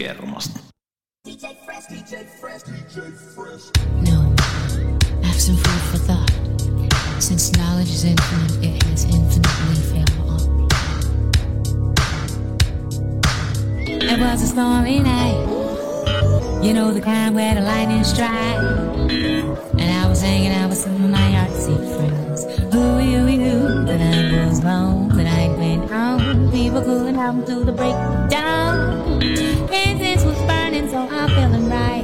Ökykermasta. No, have some food for thought. Since knowledge is infinite, it has infinitely failed on. It was a stormy night. You know the kind where the lightning strike. And I was hanging out with some of my artsy friends. Who we knew the night was long, the night went on. People cooling out through the breakdown. Incense was burning, so I'm feeling right.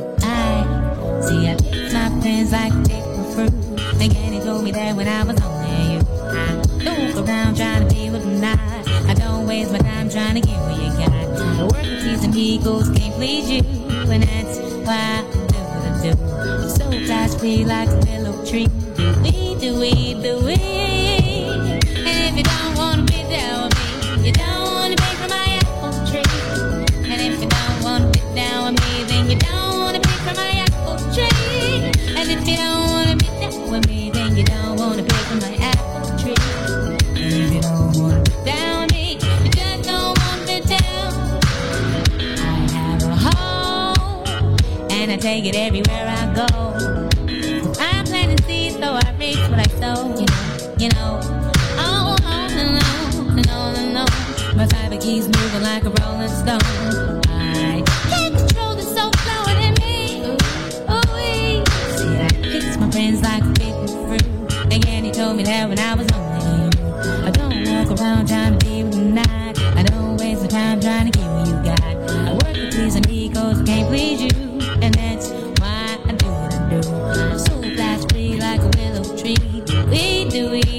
I picked my pens like they were fruit. Again, he told me that when I was only you. I look around trying to be with the night. I don't waste my time trying to get where you got. The work of pleasing egos can't please you. And that's why I do what I do. So flash free like a willow tree. Do we. And if you don't wanna be down with me, you don't wanna be from my apple tree. And if you don't wanna be down with me, then you don't wanna be from my apple tree. And if you don't wanna be down with me, then you don't wanna be from my apple tree. And if you don't wanna be down with me, you just don't wanna be down. I have a home, and I take it everywhere I go. I'm planting seeds, so I reap what I sow. You know. Oh, no. My fiber keeps moving like a rolling stone. I can't control the soul flowing in me. Ooh-wee. See, I picked my friends like a big fruit. Again, he told me that when I was only you. I don't walk around trying to be with the night. I don't waste my time trying to get what you got. I work to please me cause I can't please you. And that's why I do what I do. So flash free like a willow tree. Do we.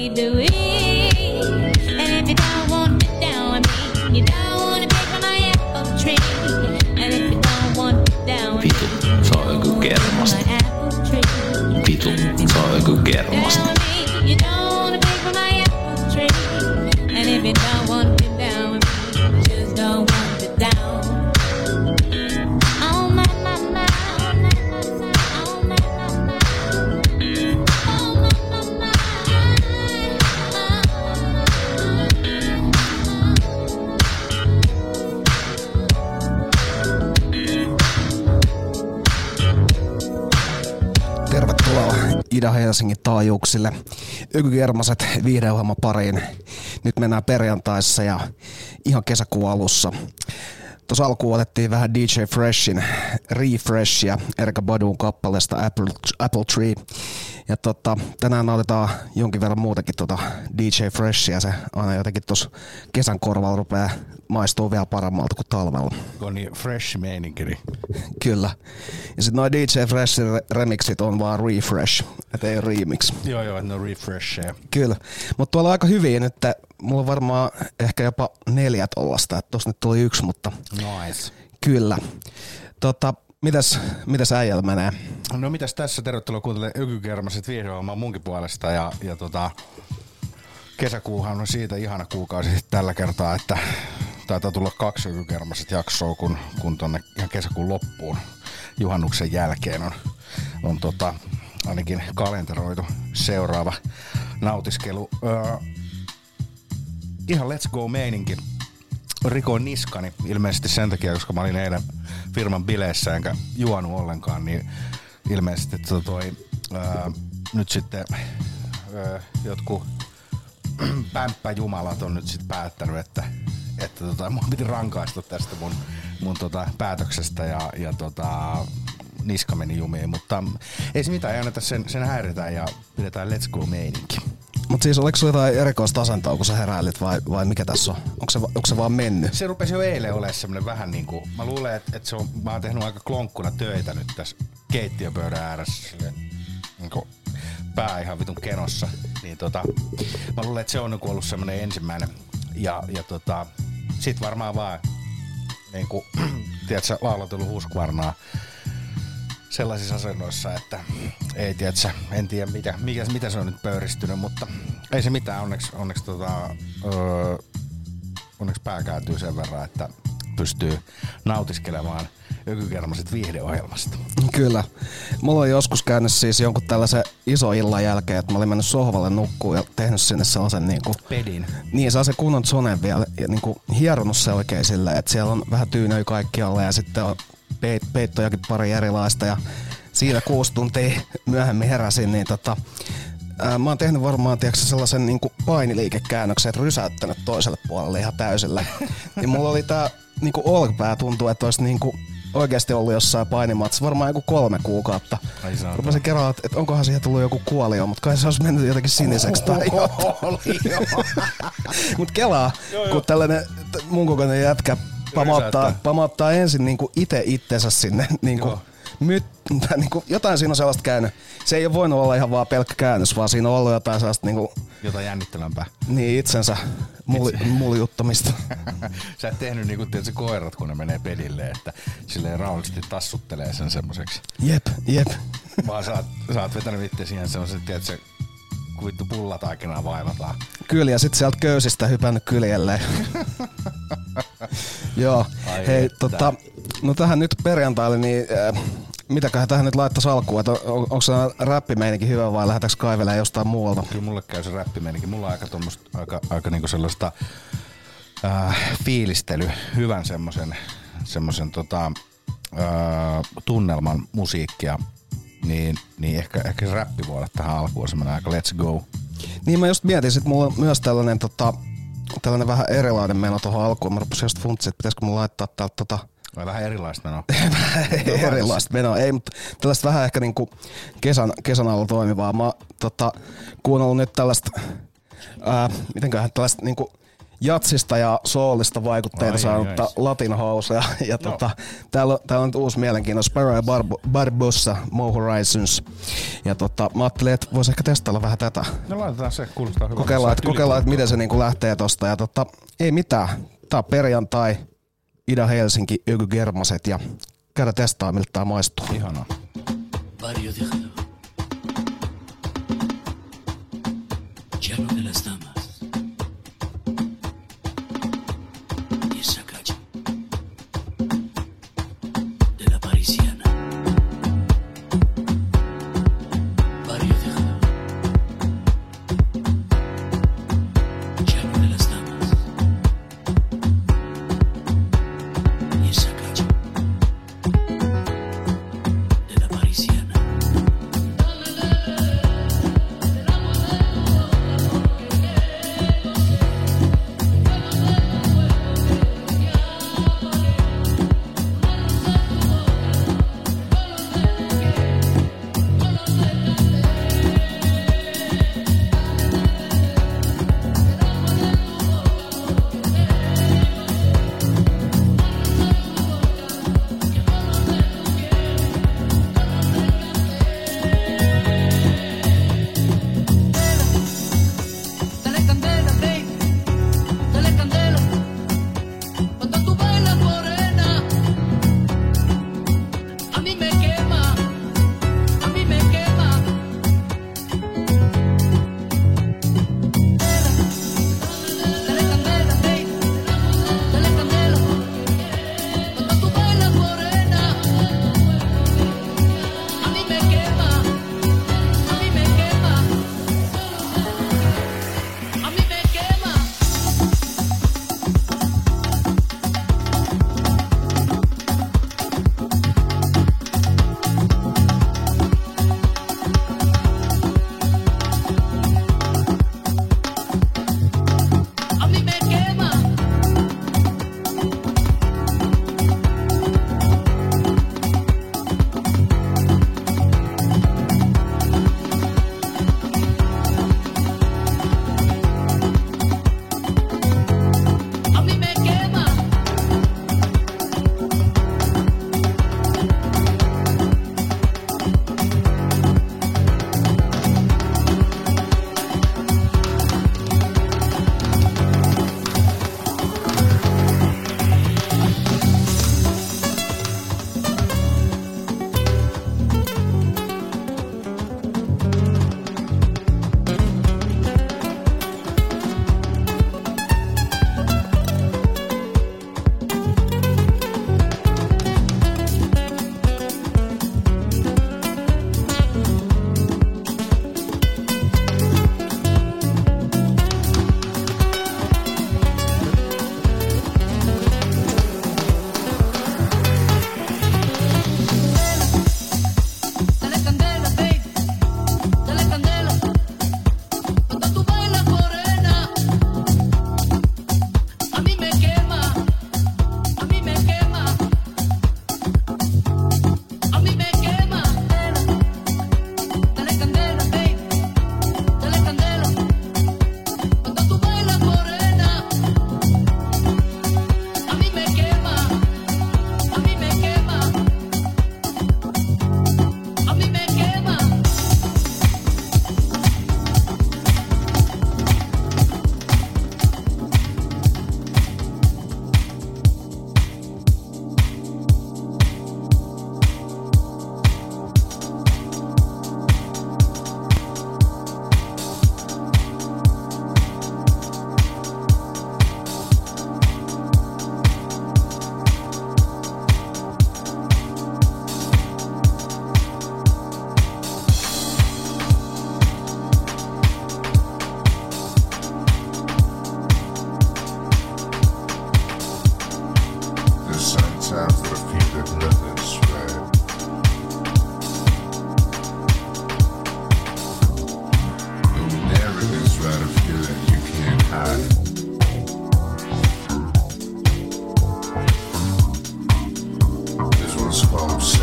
And if you don't want to be down with me, you don't want to be from my apple tree. And if you don't want to be down with me, se on Ökykermasta. Vitu, se on Ökykermasta. you don't want to be from my apple tree. And if you don't want to be down with me, you just don't want to be down. Oh my. Tervetuloa Ida-Helsingin taajuuksille Ökykermaset viihdeohjelman pariin. Nyt mennään perjantaissa ja ihan kesäkuun alussa. Tuossa alkuun otettiin vähän DJ Freshin Refreshia Erykah Badun kappaleesta Apple Tree. Ja tänään otetaan jonkin verran muutakin DJ Freshia. Se aina jotenkin tuossa kesän korvalla rupeaa maistuu vielä paremmalta kuin talvella. On niin fresh meininki. Kyllä. Ja sitten noi DJ Freshin remixit on vaan refresh, et ei remix. Joo, ne on refresheja. Kyllä. Mutta tuolla on aika hyviä nyt. Mulla on varmaan ehkä jopa 4 tollasta. Että tossa nyt tuli 1, mutta... Nice. Kyllä. Mitäs äijällä menee? No mitäs tässä? Tervetuloa kuuntelemaan Ökykermaset viihdeohjelmaa munkin puolesta. Ja kesäkuuhan on siitä ihana kuukausi tällä kertaa, että taitaa tulla 2 Ökykermaset jaksoa, kun tonne ihan kesäkuun loppuun juhannuksen jälkeen on ainakin kalenteroitu seuraava nautiskelu. Ihan let's go meininki. Rikoin niskani ilmeisesti sen takia, koska mä olin eilen firman bileissä enkä juonut ollenkaan, niin ilmeisesti nyt sitten jotkut pämppäjumalat on nyt sitten päättänyt, että mun piti rankaista tästä mun päätöksestä ja niska meni jumiin, mutta ei se mitään, ei anneta sen häiritään ja pidetään let's go meininki. Mutta siis oliko sulla jotain erikoista asentoa, kun sä heräilit vai mikä tässä on? Onko se vaan mennyt? Se rupesi jo eilen olemaan semmonen vähän niinku, mä luulen, että mä oon tehnyt aika klonkkuna töitä nyt tässä keittiöpöydän ääressä silleen, niinku pää ihan vitun kenossa. Niin mä luulen, että se on ollut semmonen ensimmäinen ja sit varmaan vaan niinku, tiedätkö, laulatellut Husqvarnaa sellaisissa asennoissa, että ei tiedätkö, en tiedä mitä se on nyt pöyristynyt, mutta ei se mitään, onneksi pää kääntyy sen verran, että pystyy nautiskelemaan Ökykermaset viihdeohjelmasta. Kyllä. Mulla on joskus käynyt siis jonkun tällaisen iso illan jälkeen, että mä olin mennyt sohvalle nukkuun ja tehnyt sinne sellaisen niinku... Pedin. Niin, sellaisen kunnon zonen vielä ja niinku hieronut se oikein silleen, että siellä on vähän tyynöjä kaikkialla ja sitten on peittojakin pari erilaista ja siinä 6 tuntia myöhemmin heräsin, niin mä oon tehnyt varmaan sellaisen niinku painiliikekäännöksen, että rysäyttänyt toiselle puolelle ihan täysillä. Ja mulla oli tää niinku olkapää tuntuu, että olisi niinku oikeasti ollut jossain painimatsissa varmaan joku 3 kuukautta. Rupesin kerran, että onkohan siihen tullut joku kuolio, mutta kai se olisi mennyt jotenkin siniseksi tai jotain. Mut kelaa, kun tällainen mun kokoinen jätkä pamauttaa ensin niinku itsensä sinne niinku niinku, jotain siinä on sellaista käynyt. Se ei ole voinut olla ihan vaan pelkkä käännös, vaan siinä on ollut jotain sellaista niinku... Jotain jännittävämpää. Niin, itsensä muljuttamista. Sä et tehnyt niinku tietysti koirat, kun ne menee pedille, että silleen rauhallisesti tassuttelee sen semmoseksi. Jep. Vaan sä oot vetänyt itse siihen semmosen, tiedätkö, kun vittu pullataikinaa vaivataan. Kyllä, ja sit sieltä köysistä hypännyt kyljelleen. Joo, ai hei, että. no tähän nyt perjantaille, niin mitäköhän tähän nyt laittais alkuun, että onko se räppimeininki hyvä vai lähdetäänkö kaivelemaan jostain muualta? Kyllä mulle käy se räppimeininki. Mulla on aika niinku sellaista fiilistely, hyvän semmosen tunnelman musiikkia, niin ehkä se räppi voi olla tähän alkuun semmoinen aika let's go. Niin mä just mietin, että mulla on myös tällainen vähän erilainen meno tuohon alkuun. Mä rupesin just funtsia, että pitäisikö mun laittaa täältä vai vähän erilaista menoa? Erilaista menoa, ei, mutta tällaista vähän ehkä niinku kesän alla toimivaa. Mä oon kuunnellut nyt tällaista, mitenköhän tällaista niinku jatsista ja soolista vaikutteita saanutta Latin Housea. Ja täällä on nyt uusi mielenkiintoinen Sparrow ja Barbossa, Mo Horizons. Ja mä ajattelin, että vois ehkä testailla vähän tätä. No laitetaan se, kuulostaa hyvältä. Kokeillaan, että miten se niinku lähtee tosta. Ja ei mitään, tää on perjantai, Ida-Helsinki, Ökygermaset ja käydä testaa, miltä tää maistuu. Ihanaa. Barrio de Jalapa. Llano de las Damas. Y esa calle de la Parisiana. Barrio de Jalapa. Llano de las Damas. Y esa calle de la Parisiana.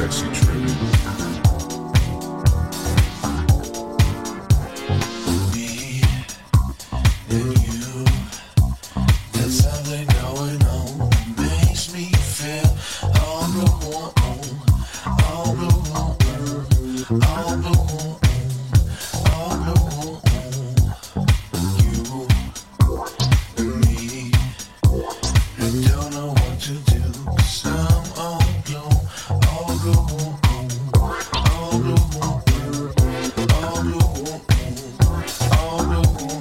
sexy trick. Me and you, there's something going on. Makes me feel all the warm, all the warm, all the warm, all the warm. You and me, I don't know what to do, 'cause I'm all blown, all the warm, all the warm, all the warm, all the warm.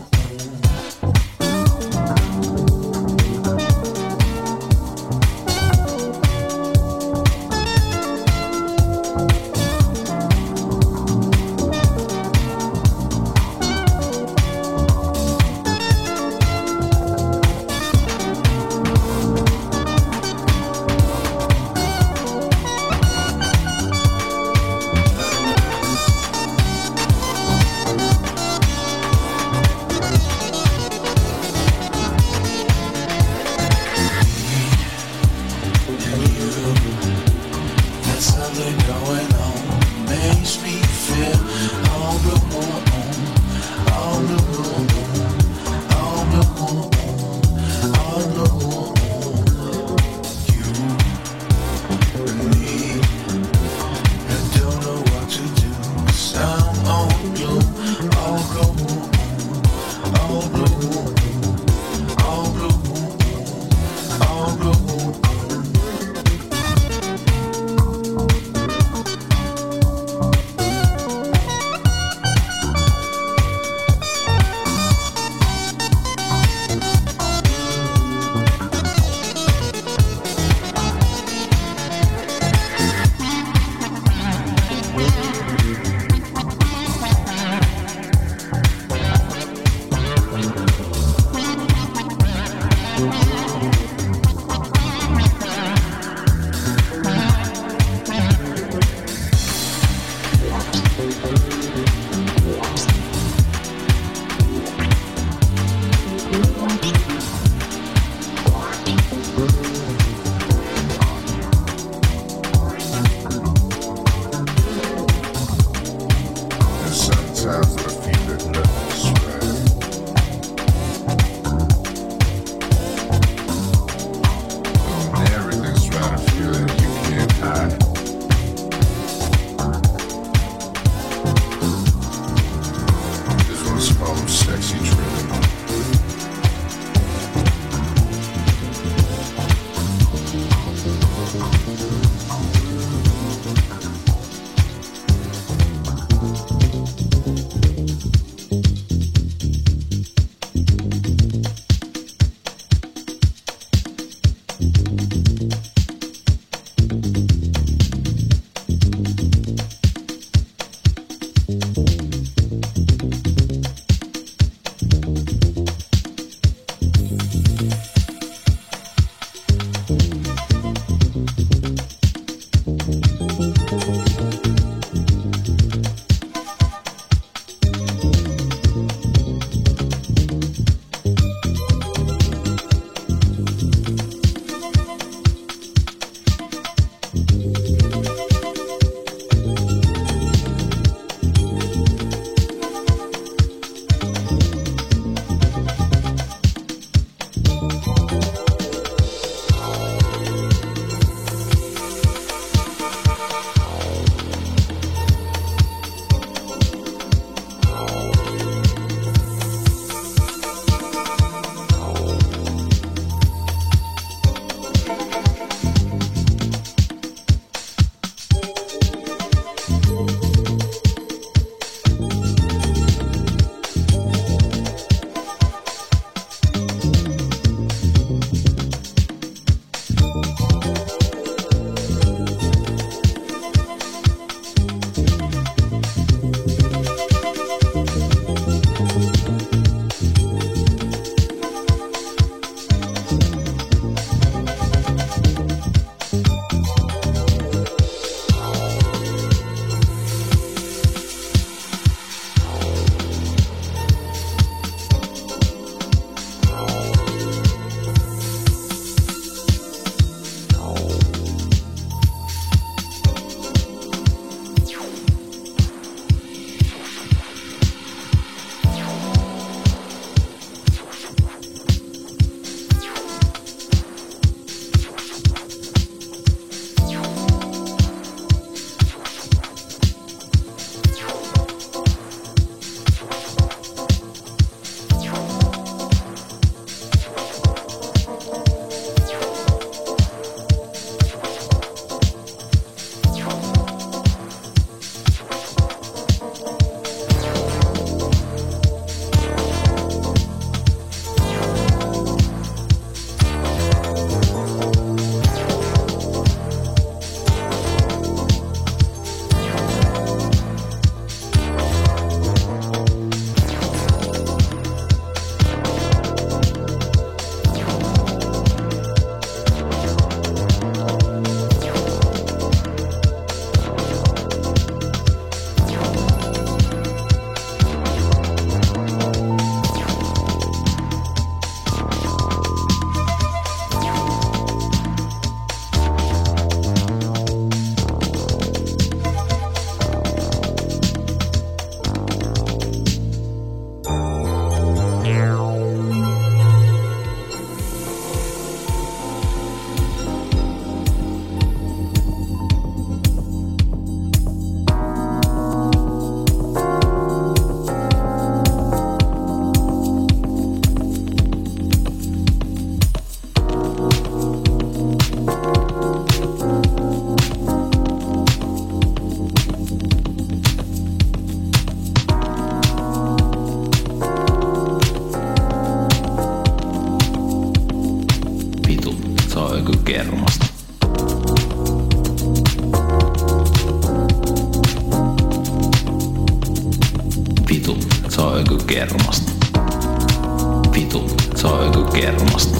kermasta. Vitu, se on joku kermasta.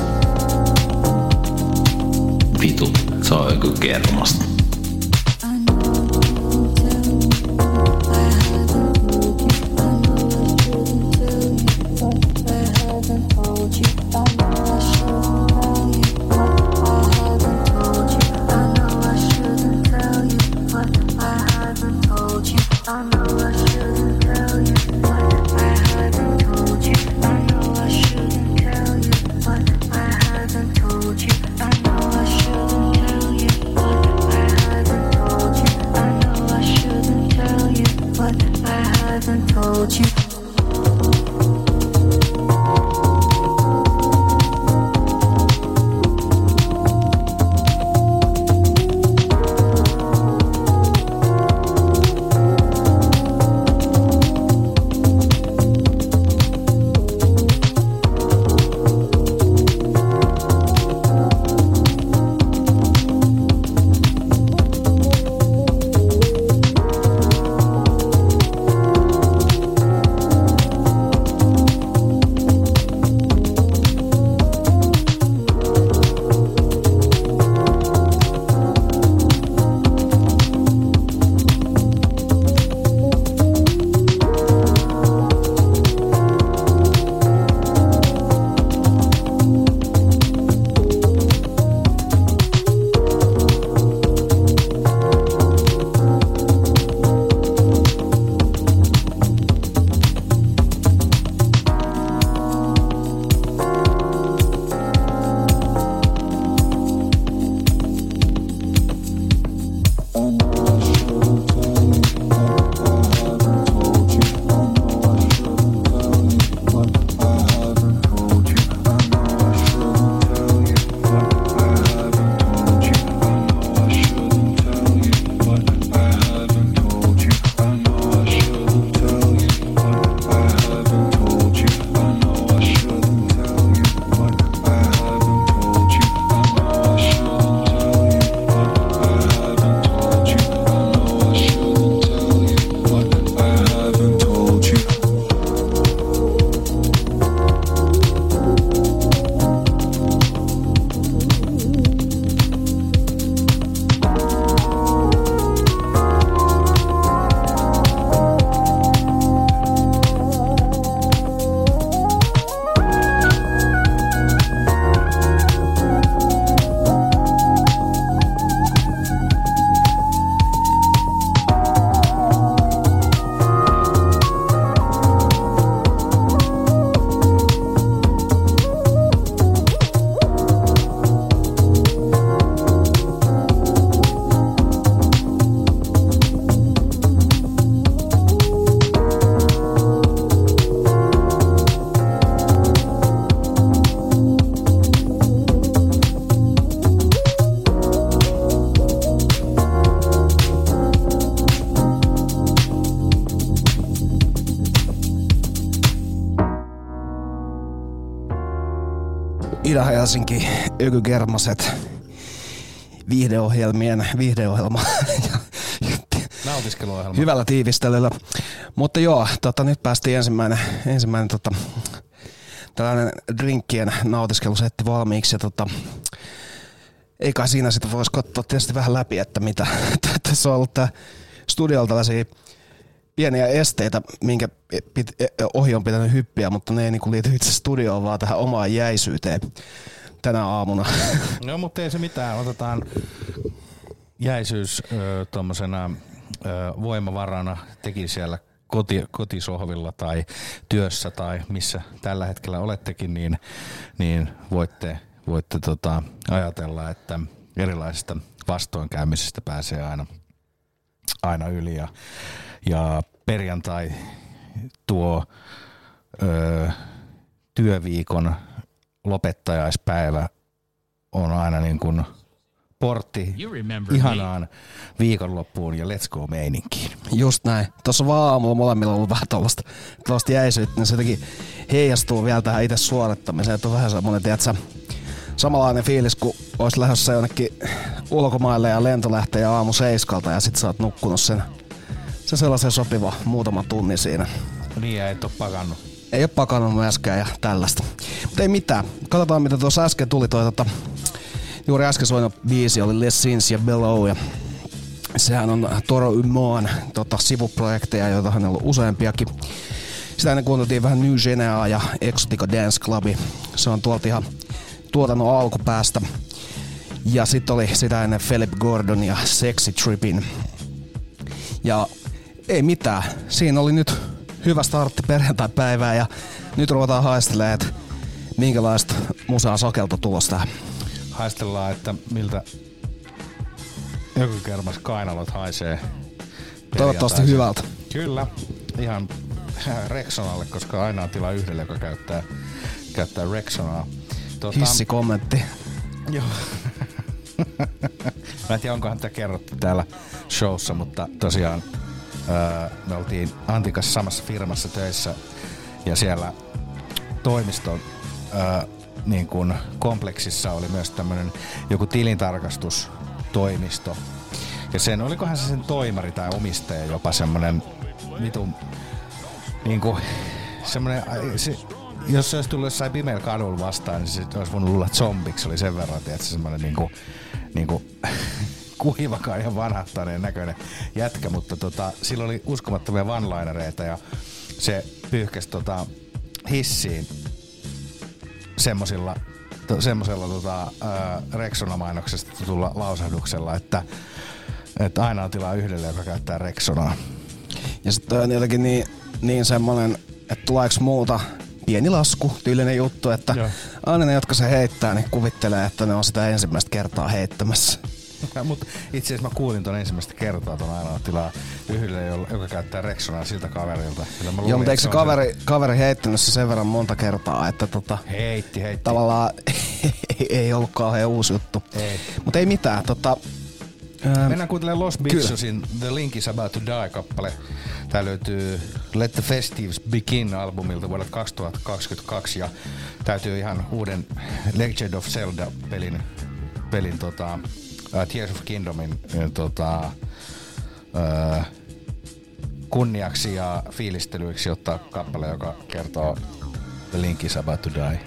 Vitu, se on joku kermasta. Ida-Helsinki, Ökygermaset, viihdeohjelma Nautiskeluohjelma. hyvällä tiivistelyllä. Mutta joo, nyt päästiin ensimmäinen tällainen drinkkien nautiskelusetti valmiiksi. Ja ei kai siinä sitten voisi katsoa tietysti vähän läpi, että mitä. Tässä on ollut tää studiolla tällaisia pieniä esteitä, minkä ohi on pitänyt hyppiä, mutta ne ei niinku liity itse studioon, vaan tähän omaan jäisyyteen tänä aamuna. No, mutta ei se mitään. Otetaan jäisyys tuommoisena voimavarana, teki siellä kotisohvilla tai työssä tai missä tällä hetkellä olettekin, niin voitte ajatella, että erilaisista vastoinkäymisistä pääsee aina yli. Ja perjantai tuo työviikon lopettajaispäivä on aina niin kuin portti ihanaan viikonloppuun ja let's go meininkiin. Just näin. Tuossa vaan aamulla molemmilla on ollut vähän tuollaista jäisyyttä, niin se jotenkin heijastuu vielä tähän itse suorittamiseen. Että on vähän semmoinen, tiedätkö, samanlainen fiilis, kun olisi lähdössä jonnekin ulkomaille ja lento lähtee aamu 7 ja sit sä oot nukkunut sen sellaisen sopiva muutama tunnin siinä. Niin, ja et oo pakannut. ei ole pakannut myöskään ja tällaista. Mutta ei mitään. Katsotaan mitä tuossa äsken tuli juuri äsken soinut biisi oli Les Sins ja Below ja sehän on Toro Umoan sivuprojekteja, joita hän on ollut useampiakin. Sitä ennen kuunneltiin vähän New Genea ja Exotica Dance Clubi. Se on tuolta ihan tuotannon alkupäästä. Ja sitten oli sitä ennen Philip Gordon ja Sexy Trippin. Ja ei mitään. Siinä oli nyt hyvä startti perjantai-päivää ja nyt ruvetaan haistelemaan, että minkälaista musaa sokelta tulossa tähän. Haistellaan, että miltä ökykermas kainalot haisee. Toivottavasti hyvältä. Kyllä, ihan Rexonalle, koska aina on tila yhdelle, joka käyttää Rexonaa. Hissikommentti. Joo. Mä en tiedä, onkohan tätä kerrottu täällä showssa, mutta tosiaan me oltiin Antin kanssa samassa firmassa töissä ja siellä toimiston niin kuin kompleksissa oli myös tämmönen joku tilintarkastustoimisto. Ja olikohan se sen toimari tai omistaja jopa semmonen vitun niinku semmonen jos se olisi tullut jossain pimeällä kadulla vastaan, niin se olisi voinut luulla zombiksi. Se oli sen verran, että se semmoinen niinku kuivakaan ja vanhahtaneen näköinen jätkä, mutta sillä oli uskomattomia one-linereita ja se pyyhkäsi hissiin semmosella Rexona-mainoksesta tulla lausahduksella, että aina on tilaa yhdelle, joka käyttää Rexonaa. Ja sitten on jotenkin niin semmonen, että tuleeko muuta pieni lasku, tyylinen juttu, että aina ne, jotka se heittää, niin kuvittelee, että ne on sitä ensimmäistä kertaa heittämässä. Mutta itse asiassa mä kuulin ton ensimmäistä kertaa ton aina tilaa yhdelle, joka käyttää Rexonaa siltä kaverilta. Joo, mutta eikö se kaveri heittänyt se sen verran monta kertaa, että heitti. Tavallaan ei ollut kauhean uusi juttu. Mutta ei mitään, mennään kuuntelemaan Los Bitchosin The Link is About to Die-kappale. Tää löytyy Let the Festives Begin -albumilta vuodelta 2022 ja täytyy ihan uuden Legend of Zelda-pelin Tears of Kingdomin kunniaksi ja fiilistelyiksi ottaa kappale, joka kertoo The Link is About to Die.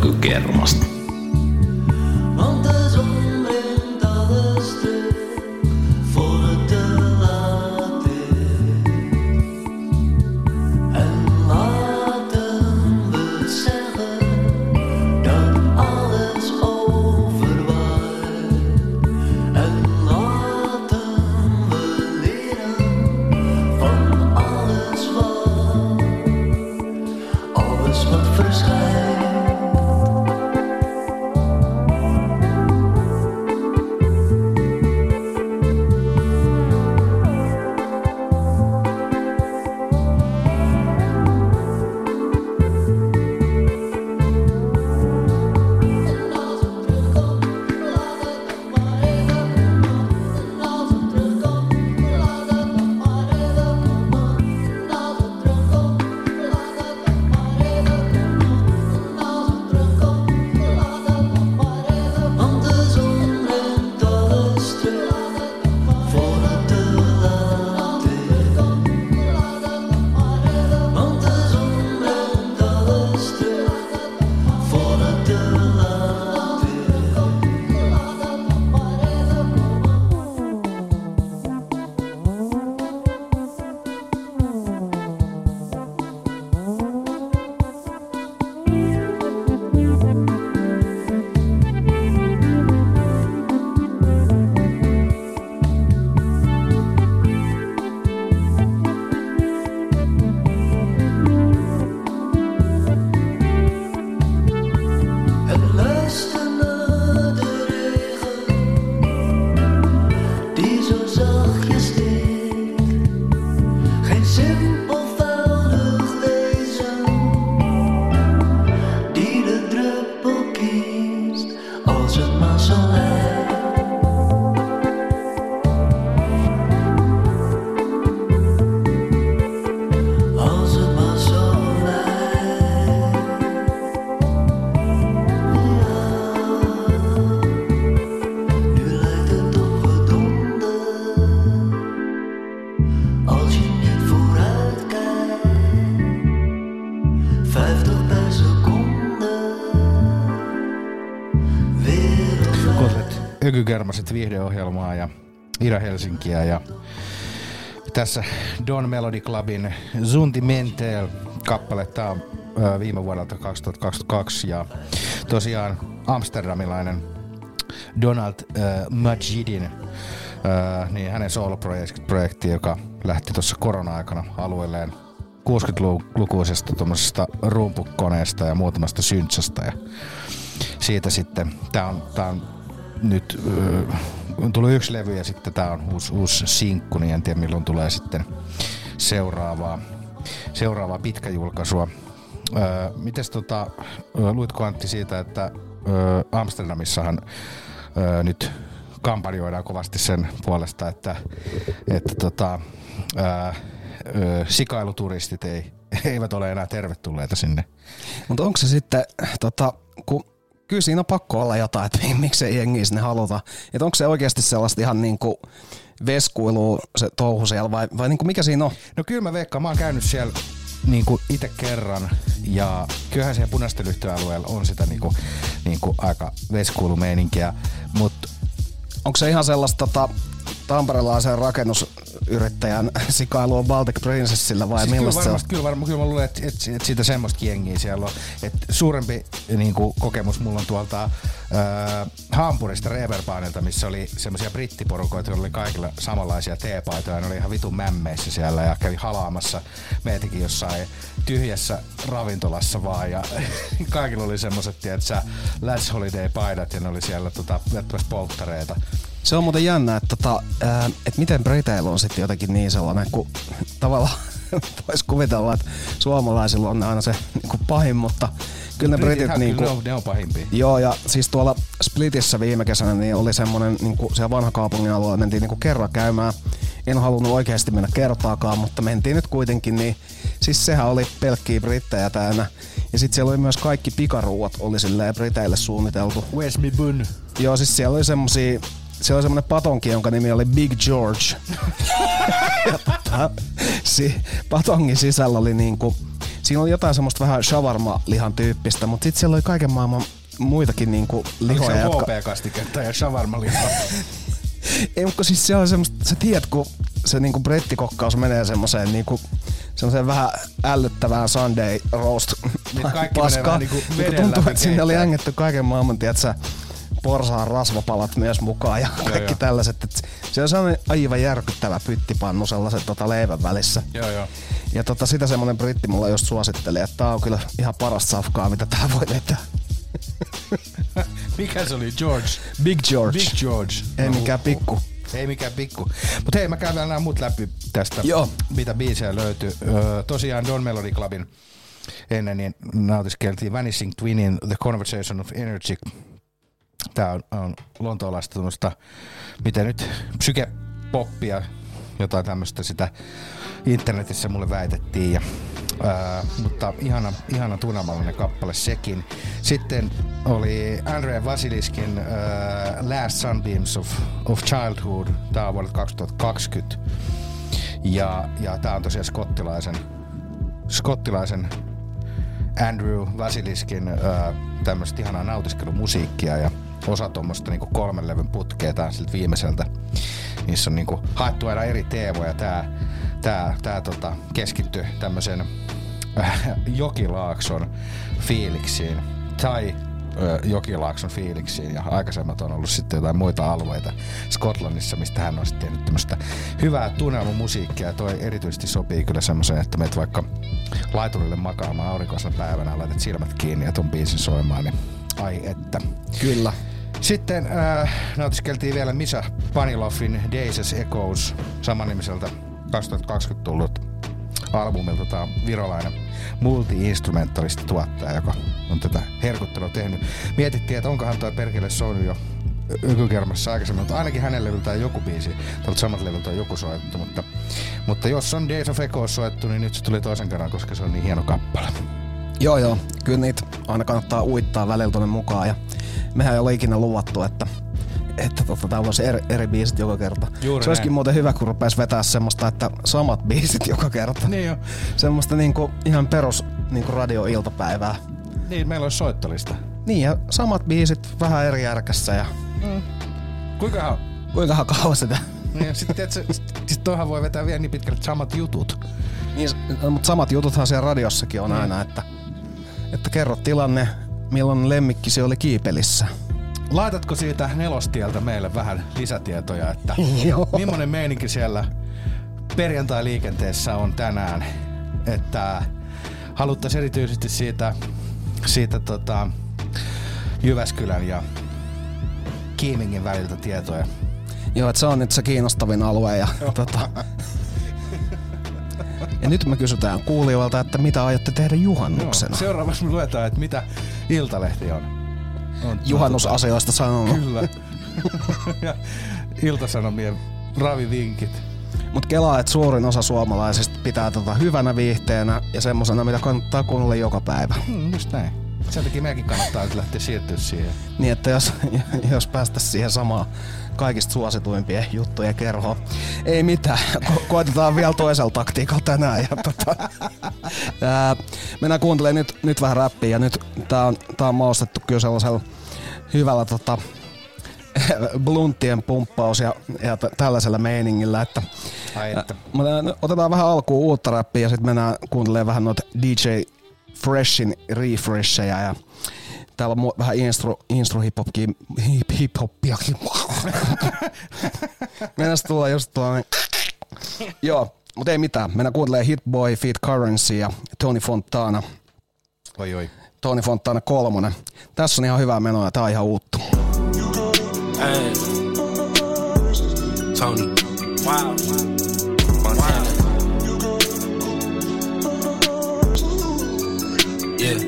ökykermasta. Want de zon brengt alles terug voor het te laat is. En laten we zeggen dat alles overwaait. En laten we leren van alles wat verschijnt. Ökykermaset viihdeohjelmaa ja Ira Helsinkiä ja tässä Don Melody Clubin Zuntimentel kappale. Tää on viime vuodelta 2022 ja tosiaan amsterdamilainen Donald Majidin niin hänen soloprojekti, joka lähti tuossa korona-aikana alueelleen 60-lukuisesta tuommoisesta rumpukoneesta ja muutamasta syntsästä ja siitä sitten tää on nyt on tullut yksi levy ja sitten tää on uusi sinkku, niin en tiedä milloin tulee sitten seuraavaa pitkäjulkaisua. Mites luitko Antti siitä, että Amsterdamissahan nyt kampanjoidaan kovasti sen puolesta, että sikailuturistit eivät ole enää tervetulleita sinne. Mutta onko se sitten, kun kyllä siinä on pakko olla jotain, että miksei jengiä sinne haluta. Että onko se oikeasti sellaista ihan niinku veskuilua se touhu siellä vai niinku mikä siinä on? No kyllä mä veikkaan, mä oon käynyt siellä niinku itse kerran ja kyllähän siellä punaisten lyhtöalueella on sitä niinku aika veskuilumeininkiä, mutta onko se ihan sellaista tamperelaisen rakennusyrittäjän sikailua Baltic Princessillä vai siis millaista se on? Kyllä mä luulen, että siitä semmoistakin jengiä siellä on. Et suurempi niinku kokemus mulla on tuolta Hampurista Reeperbaanilta, missä oli semmoisia brittiporukoita, joilla oli kaikilla samanlaisia teepaitoja. Ne oli ihan vitun mämmeissä siellä ja kävi halaamassa meitäkin jossain tyhjässä ravintolassa vaan. Ja kaikilla oli semmoset, tiedätkö, Lads Holiday-paidat ja ne oli siellä vettämässä polttareita. Se on muuten jännä, että miten briteillä on sitten jotenkin niin sellainen, kun tavallaan voisi kuvitella, että suomalaisilla on aina se niin pahin, mutta kyllä ne britit ne on pahimpia. Joo, ja siis tuolla Splitissä viime kesänä niin oli semmoinen, niin siellä vanha kaupungin alueella mentiin niin kerran käymään. En halunnut oikeasti mennä kertaakaan, mutta mentiin nyt kuitenkin, niin siis sehän oli pelkkiä brittejä täynnä. Ja sit siellä oli myös kaikki pikaruuat oli silleen briteille suunniteltu. Where's me bun? Joo, siis siellä oli semmosia, siellä oli semmonen patonki, jonka nimi oli Big George. Ja patongin sisällä oli niinku, siinä oli jotain semmoista vähän shawarma-lihan tyyppistä, mutta sitten siellä oli kaiken maailman muitakin niinku lihoja, jotka... HP-kastiketta ja shawarma-lihaa? Ei, mutta siis se on semmoista, sä tiedät, kun se niinku brettikokkaus menee semmoiseen niinku semmoiseen vähän ällöttävään Sunday roast paskaan. Niinku tuntuu, että sinne oli ängetty kaiken maailman, tiedätkö, porsaan rasvapalat myös mukaan ja kaikki tällaiset. Et se on sellainen aivan järkyttävä pyttipannu sellaisen leivän välissä. Joo. Ja sitä semmonen britti mulla just suositteli, että tää on kyllä ihan parasta safkaa, mitä tää voi vetää. Mikä se oli? George? Big George. Big George. Ei mikään pikku. Ei mikään pikku. Mut hei, mä käydään nämä muut läpi tästä, mitä biisejä löytyy. Tosiaan Don Melody Clubin ennen niin nautiskeltiin Vanishing Twinin The Conversation of Energy. Tää on lontoolaista tämmöstä, miten nyt, psykepoppia, jotain tämmöstä sitä internetissä mulle väitettiin. Ja, mutta ihana tunnelmallinen kappale sekin. Sitten oli Andrea Vasiliskin Last Sunbeams of Childhood. Tää on vuodelta 2020. Ja tää on tosiaan skottilaisen Andrew Vasiliskin tämmöstä ihanaa nautiskelumusiikkia ja osa tuommoista niinku 3 levyn putkea tää siltä viimeiseltä. Niissä on niinku haettu aina eri teemoja. Tää keskittyy tämmösen Jokilaakson fiiliksiin tai Jokilaakson fiiliksiin ja aikaisemmat on ollut sitten jotain muita alueita Skotlannissa, mistä hän on sitten tehnyt tämmöstä hyvää tunnelmamusiikkia ja toi erityisesti sopii kyllä semmoiseen, että meet vaikka laiturille makaamaan aurinkoisena päivänä, laitat silmät kiinni ja ton biisin soimaan, niin ai että. Kyllä. Sitten nautiskeltiin vielä Misha Paniloffin Days as Echoes samannimiseltä 2020 tullut albumilta. Tää on virolainen multi-instrumentalisti tuottaja, joka on tätä herkuttelua tehnyt. Mietittiin, että onkohan toi perkele soinut jo Ykykermassa aikaisemmin, mutta ainakin hänen levyltään joku biisi, tältä samat levyltä on joku soittu, mutta jos on Days of Echoes soittu, niin nyt se tuli toisen kerran, koska se on niin hieno kappale. Joo, kyllä niitä aina kannattaa uittaa välillä tonne mukaan ja mehän ei ole ikinä luvattu, että tää voisi eri biisit joka kerta. Juuri se olisikin muuten hyvä, kun rupes vetää semmoista, että samat biisit joka kerta. Niin jo. Semmoista niinku ihan perus niinku radio-iltapäivää. Niin, meillä olisi soittolista. Niin, ja samat biisit vähän eri järkässä ja... Kuinkahan kauan sitä? Niin, sitten toihan voi vetää vielä niin pitkälle samat jutut. Niin, mutta samat jututhan siellä radiossakin on aina, että kerro tilanne, milloin lemmikkisi oli kiipelissä. Laitatko siitä Nelostieltä meille vähän lisätietoja, että millainen meininki siellä perjantai-liikenteessä on tänään, että haluttaisiin erityisesti siitä Jyväskylän ja Kiimingin väliltä tietoja. Joo, että se on nyt se kiinnostavin alue ja ja nyt me kysytään kuulijoilta, että mitä aiotte tehdä juhannuksena. Joo, seuraavaksi me luetaan, että mitä Iltalehti on juhannusasioista sanonut. Kyllä. Ja Ilta-Sanomien ravivinkit. Mut kelaa, että suurin osa suomalaisista pitää hyvänä viihteenä ja semmosena, mitä kannattaa kuunnella joka päivä. Just näin. Sen takia meidänkin kannattaa nyt lähteä siirtyä siihen. Niin, että jos päästäisiin siihen samaan kaikista suosituimpien juttujen kerhoon. Ei mitään. Koitetaan vielä toisella taktiikalla tänään. Ja mennään kuuntelemaan nyt vähän räppiä. Ja nyt tää on maustettu kyllä sellaisella hyvällä blunttien pumppaus ja tällaisella meiningillä. Että otetaan vähän alkuun uutta räppiä ja sitten mennään kuuntelemaan vähän noita DJ Freshin refreshejä ja täällä on vähän hip-hoppiakin. Mennään tulla just tuolla. Joo, mutta ei mitään. Mennään kuuntelemaan Hit Boy, Feat Currency ja Tony Fontana. Oi. Tony Fontana 3. Tässä on ihan hyvää menoa ja tää on ihan uutta. Hey. Tony. Wow. Montana. Yeah.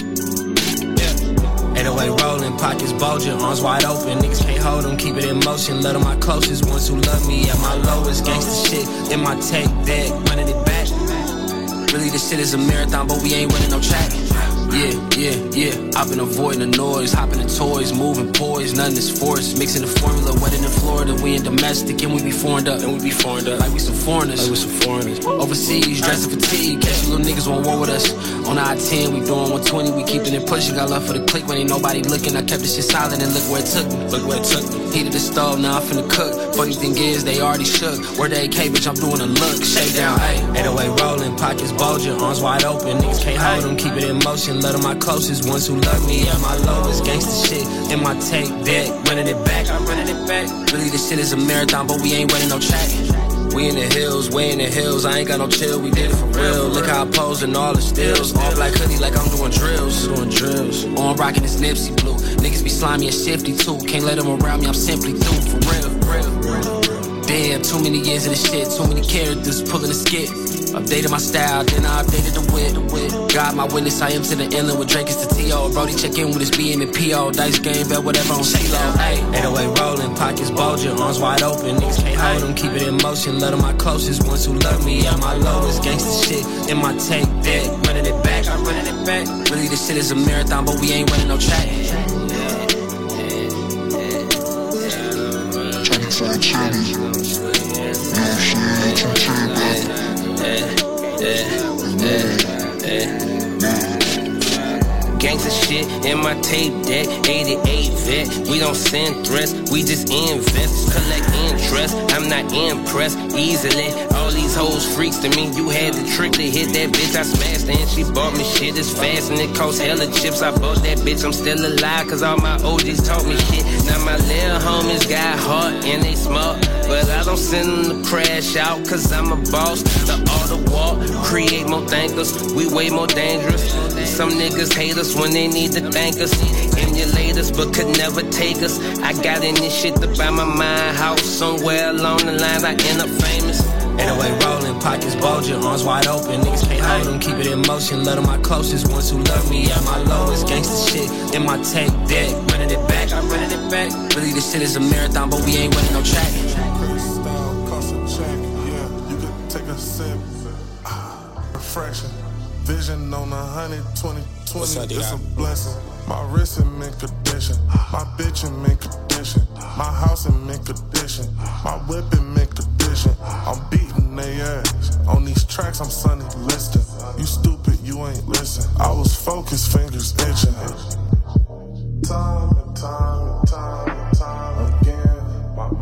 808 rolling, pockets bulging, arms wide open. Niggas can't hold them, keep it in motion. Love to my closest ones who love me at my lowest. Gangsta shit in my tape deck, running it back. Really, this shit is a marathon, but we ain't running no track. Yeah. I've been avoiding the noise, hopping the toys, moving poise, nothing is forced. Mixing the formula, wedding in Florida, we in domestic, and we be foreign up. Like we some foreigners. Overseas, dressing fatigue, catch you little niggas on war with us. On the I-10, we doing 120, we keeping it pushing. Got love for the click when ain't nobody looking. I kept this shit silent and look where it took me. Heated the stove, now I'm finna cook. Funny thing is, they already shook. Word the AK, bitch, I'm doing a look. Shake down, ayy. 808 rolling, pockets bulging, arms wide open. Niggas can't hold them, keep it in motion. Love them my closest, ones who love me at my lowest. Gangsta shit in my tape deck, running it back. Really, this shit is a marathon, but we ain't running no track. We in the hills, way in the hills. I ain't got no chill, we did it for real. Look how I pose in all the stills. All black hoodie like I'm doing drills. On I'm rocking this Nipsey blue. Niggas be slimy and shifty too. Can't let them around me, I'm simply through for real. Damn, too many years of this shit, too many characters pulling a skit. Updated my style, then I updated the wit. God, my witness, I am to the inland with Drake is the T.O. Brody check in with his B and the P.O. Dice game, bet whatever on C-Lo. 808 rolling, pockets bulging, arms wide open. Niggas can't hold them, keep it in motion. Love them my closest, ones who love me at my lowest. Gangsta shit in my tape deck, running it back. Really, this shit is a marathon, but we ain't running no track. Gangsta shit in my tape deck, 88 vet. We don't send threats, we just invest, collect interest. I'm not impressed easily. All these hoes freaks to me. You had the trick to hit that bitch, I smashed and she bought me shit as fast and it cost hella chips. I bought that bitch, I'm still alive cause all my OGs taught me shit. Now my little homies got heart and they smart, but I don't send them to crash out cause I'm a boss. The art of war, create more thinkers, we way more dangerous. Some niggas hate us when they need to thank us, emulate us but could never take us. I got in this shit to buy my mind house. Somewhere along the line I end up famous. 808 rolling, pockets bulging, arms wide open. Niggas can't hold them, keep it in motion. Love them my closest, ones who love me at my lowest. Gangsta shit in my tape deck, running it back. Really, this shit is a marathon, but we ain't running no track. Freestyle cost a check, yeah. You could take a sip. Refreshing. Vision on 120, it's a blessing. My wrist in mint condition, my bitch in mint condition, my house in mint condition, my whip in mint condition. I'm beating they ass. On these tracks, I'm Sonny Liston. You stupid, you ain't listen. I was focused, fingers itching. Time and time again. My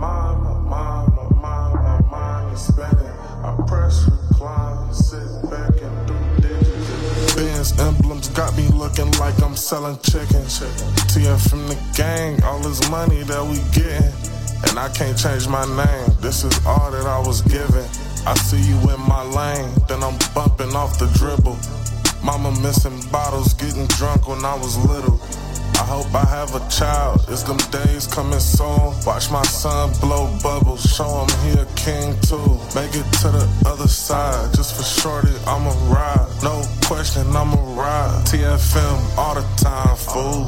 mind is spinning. I press recline, sit back and do digits. Benz emblems got me looking like I'm selling chicken. TF from the gang, all this money that we getting. And I can't change my name, this is all that I was given. I see you in my lane, then I'm bumping off the dribble. Mama missing bottles, getting drunk when I was little. I hope I have a child, it's them days coming soon. Watch my son blow bubbles, show him he a king too. Make it to the other side, just for shorty, I'ma ride. No question, I'ma ride. TFM all the time, fool.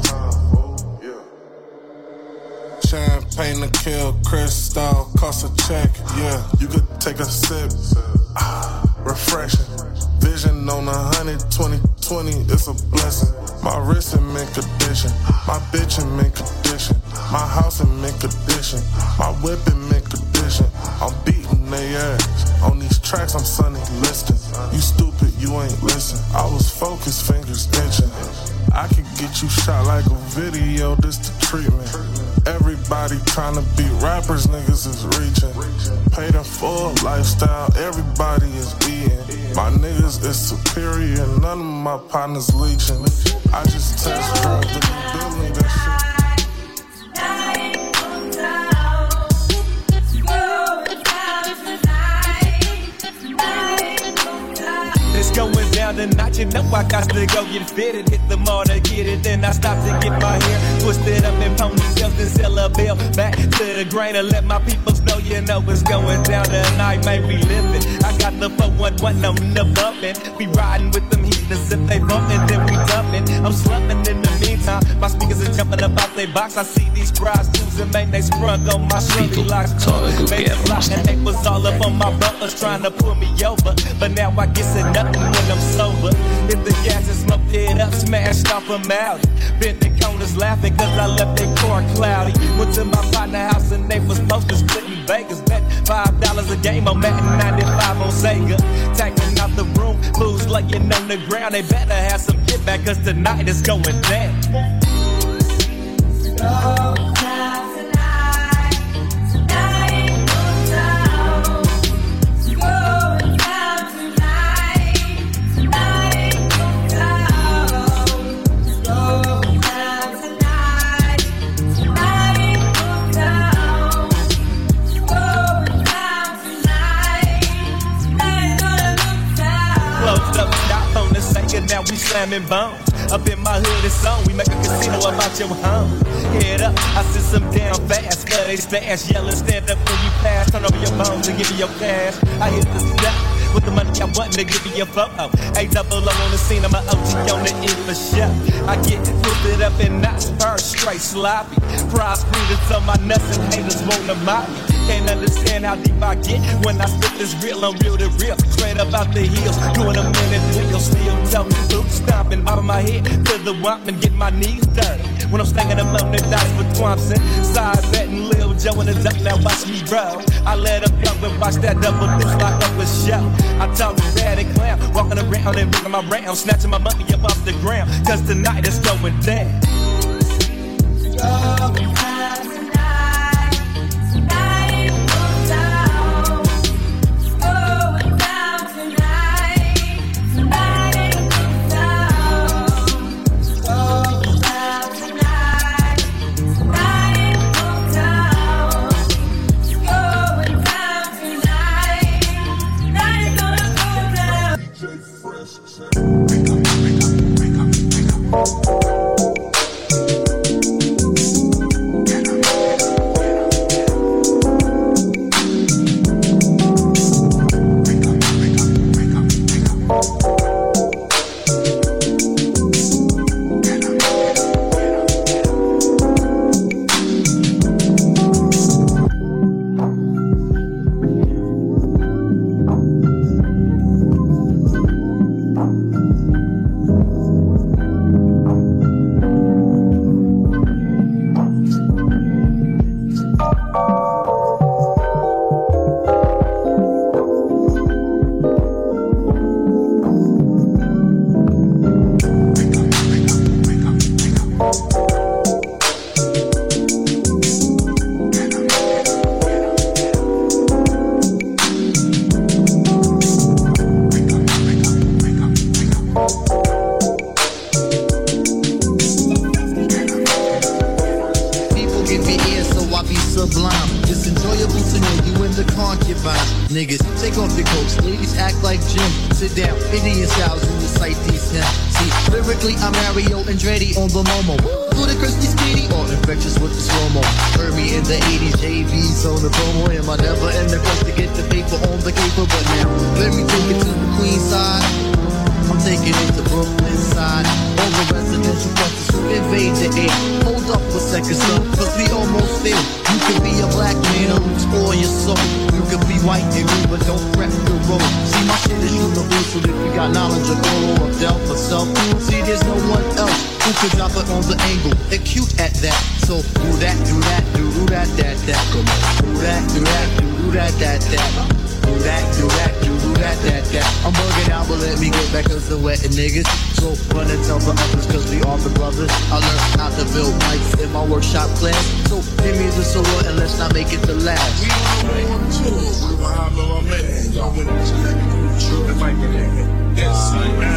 Champagne to kill, crystal, cost a check, yeah. You could take a sip, refreshing. Vision on 120, it's a blessing. My wrist in mint condition, my bitch in mint condition, my house in mint condition, my whip in mint condition. I'm beating they ass. On these tracks, I'm Sonny Liston. You stupid, you ain't listen. I was focused, fingers itching. I could get you shot like a video, this the treatment. Everybody tryna be rappers, niggas is reaching. Paid in full lifestyle, everybody is eating. My niggas is superior, none of my partners leeching. I just test drove the new building, that shit. It's going down tonight, you know I got to go get fitted. Hit the mall to get it, then I stop to get my hair twisted up in ponytails and sell a bill. Back to the grain and let my peoples know, you know it's going down tonight, man, we living. I got the 411 on the bumpin'. We riding with them heathens, if they bumpin', then we dumpin'. I'm slumpin' in the meantime, my speakers are jumping up out they box. I see these prostitutes and man, they sprung on my shorty locks. Baby lock, and they was all up on my bumpers trying to pull me over. But now I guess it nothing when I'm sober. If the gas is smoked it up, smashed off a Maui. Bent the corners laughing cause I left that car cloudy. Went to my partner house and they was posted splitting Vegas. Bet $5 a game on Madden 95 on Sega. Taking out the room, fools laying on the ground. They better have some get back cause tonight is going down. Now we slamming bones. Up in my hood, it's on. We make a casino about your home. Head up, I sit some down fast. But they stash, yelling, stand up when you pass. Turn over your bones and give me your cash. I hit the step with the money I want to give me your photo. A-double-O on the scene, I'm an OG on the end for show. I get twisted up in knots, first straight sloppy. Prize breathers on my nuts and haters wanna mock me. Can't understand how deep I get when I spit this real on real to real. Straight up out the hills, doing a minute wheel. Still tough, boot stomping out of my head to the wump and get my knees dirty. When I'm staying alone, the dice with Thompson. Size that and Lil Joe in the duck, now watch me roll. I let him go and watch that double deuce lock up a show. I talk to daddy clown, walking around and ringing my round, snatching my money up off the ground. Cause tonight is going down. Niggas, take off your coats, ladies act like Jim. Sit down, Indian styles in the sight these him. See, lyrically I'm Mario Andretti on the Momo. Ludicrously speedy or infectious with the slow-mo. Heard me in the 80s, JV's on the promo. Am I never in the quest to get the paper on the caper? But now, let me take it to the Queen side. I'm taking it to Brooklyn side. All the residential clusters who invade the air. Hold up a second, son, cause we almost there. You could be a black man or explore your soul. You could be white and green, but don't prep the road. See, my shit is universal if you got knowledge of Colo or Del for self. See, there's no one else who could drop it on the angle. They're cute at that. So do that, do that, do that, that. Come on. Do that, do that, do that, that. Do that, do that, do that, that. I'm bugging out, but let me get back cause the wetting niggas. So run and tell the others cause we are the brothers. I learned how to build mics in my workshop class. So give me the solo and let's not make it the last. We on tour with my little man. Y'all went to the true and like it. Yes,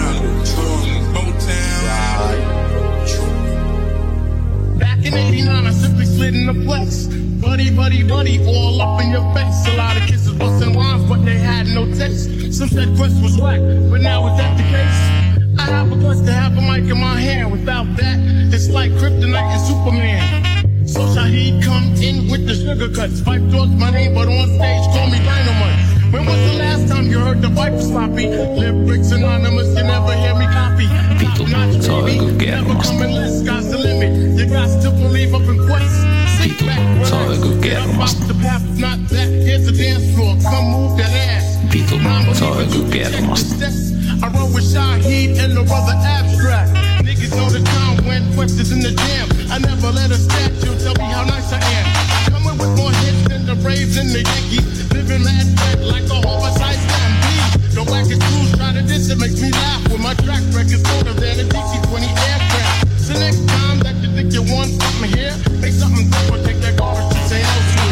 Back in 89, I simply slid in the flex. Buddy, buddy, buddy, all up in your face. A lot of kids was busting rhymes, but they had no taste. Some said Quest was whack, but now is that the case? I have a guts to have a mic in my hand. Without that, it's like Kryptonite and Superman. So Shaheed come in with the sugar cuts. Pipe towards my name, but on stage call me Dynamite. When was the last time you heard the pipe sloppy? Lyrics anonymous, you never hear me copy. Top-notch, baby, never coming less. Sky's the limit. You got to believe up in Quest. Sit back, relax, get up off the path. If not that, here's the dance floor. Come move that ass. Vitun, saa joku kermasta. I roll with Shaheed and the brother Abstract. Niggas ladies know the time when Quest is in the jam. I never let a statue tell me how nice I am. Coming with more hits than the Braves and the Yankees. Living that red like a oversized stampede. The wackest crews try to diss it, makes me laugh. When my track record's older than a DC-20 aircraft. So next time that you think you want something here, make something different, take that garbage to say elsewhere.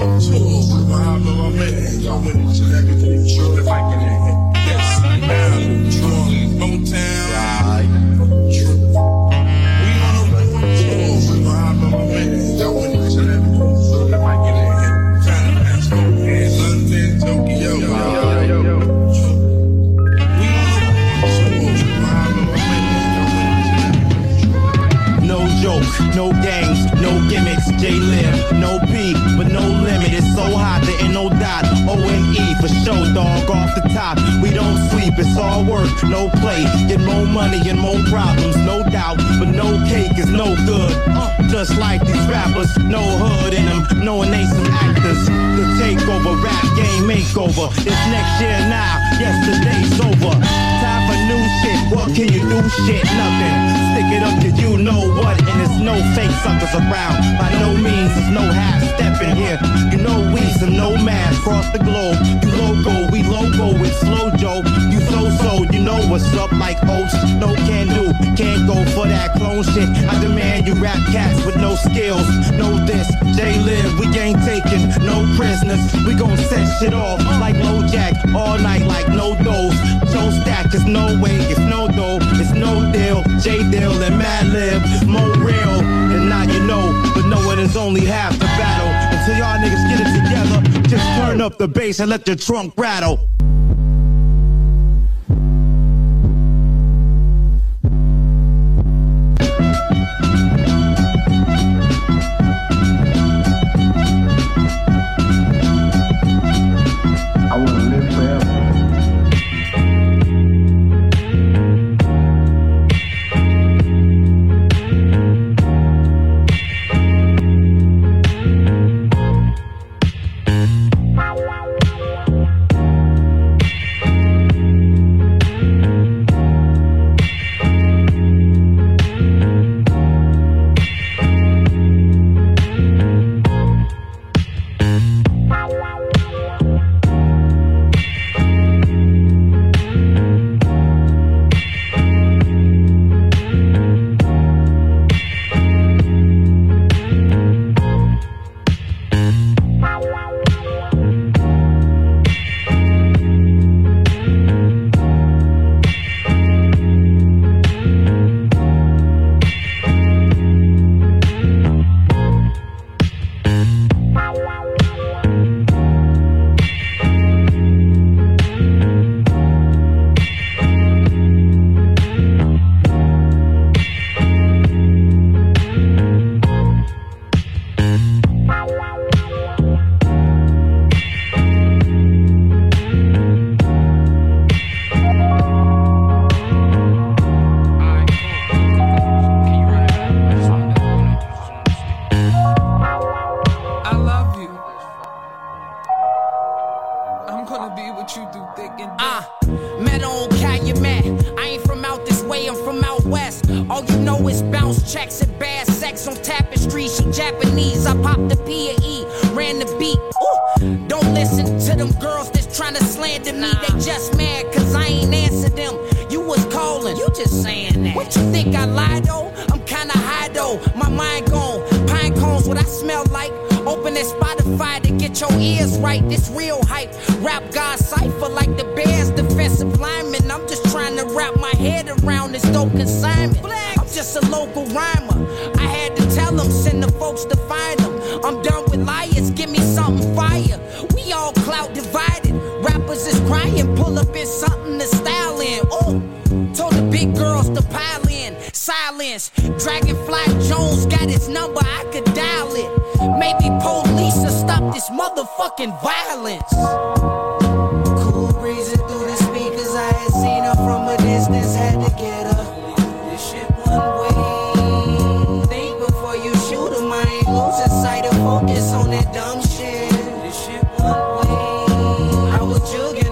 No games, no gimmicks, J-Live, no P, but no limit. It's so hot, there ain't no dot. O-N-E for show, dog, off the top. We don't sleep, it's all work, no play. Get more money and more problems, no doubt. But no cake is no good. Just like these rappers, no hood in them, knowing they some actors. The takeover, rap game makeover. It's next year now, yesterday's over. Time for new shit, what can you do? Shit, nothing. Stick it up to you know what, and there's no fake suckers around. By no means, there's no half-stepping here. You know we some nomads across the globe. You logo, we logo with Slow Joe. You so-so, you know what's up like oats. No can do, can't go for that clone shit. I demand you rap cats with no skills. Know this, J-Live, we ain't taking no prisoners. We gon' set shit off like Low Jack all night like no dose. Joe Stack is no way, it's no dough, it's no deal. J-Dill and Madlib, more real. And now you know, but knowing is only half the battle. Until y'all niggas get it together, just turn up the bass and let your trunk rattle.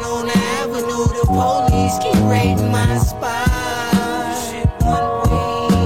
Police keep raiding my spot. This shit one way.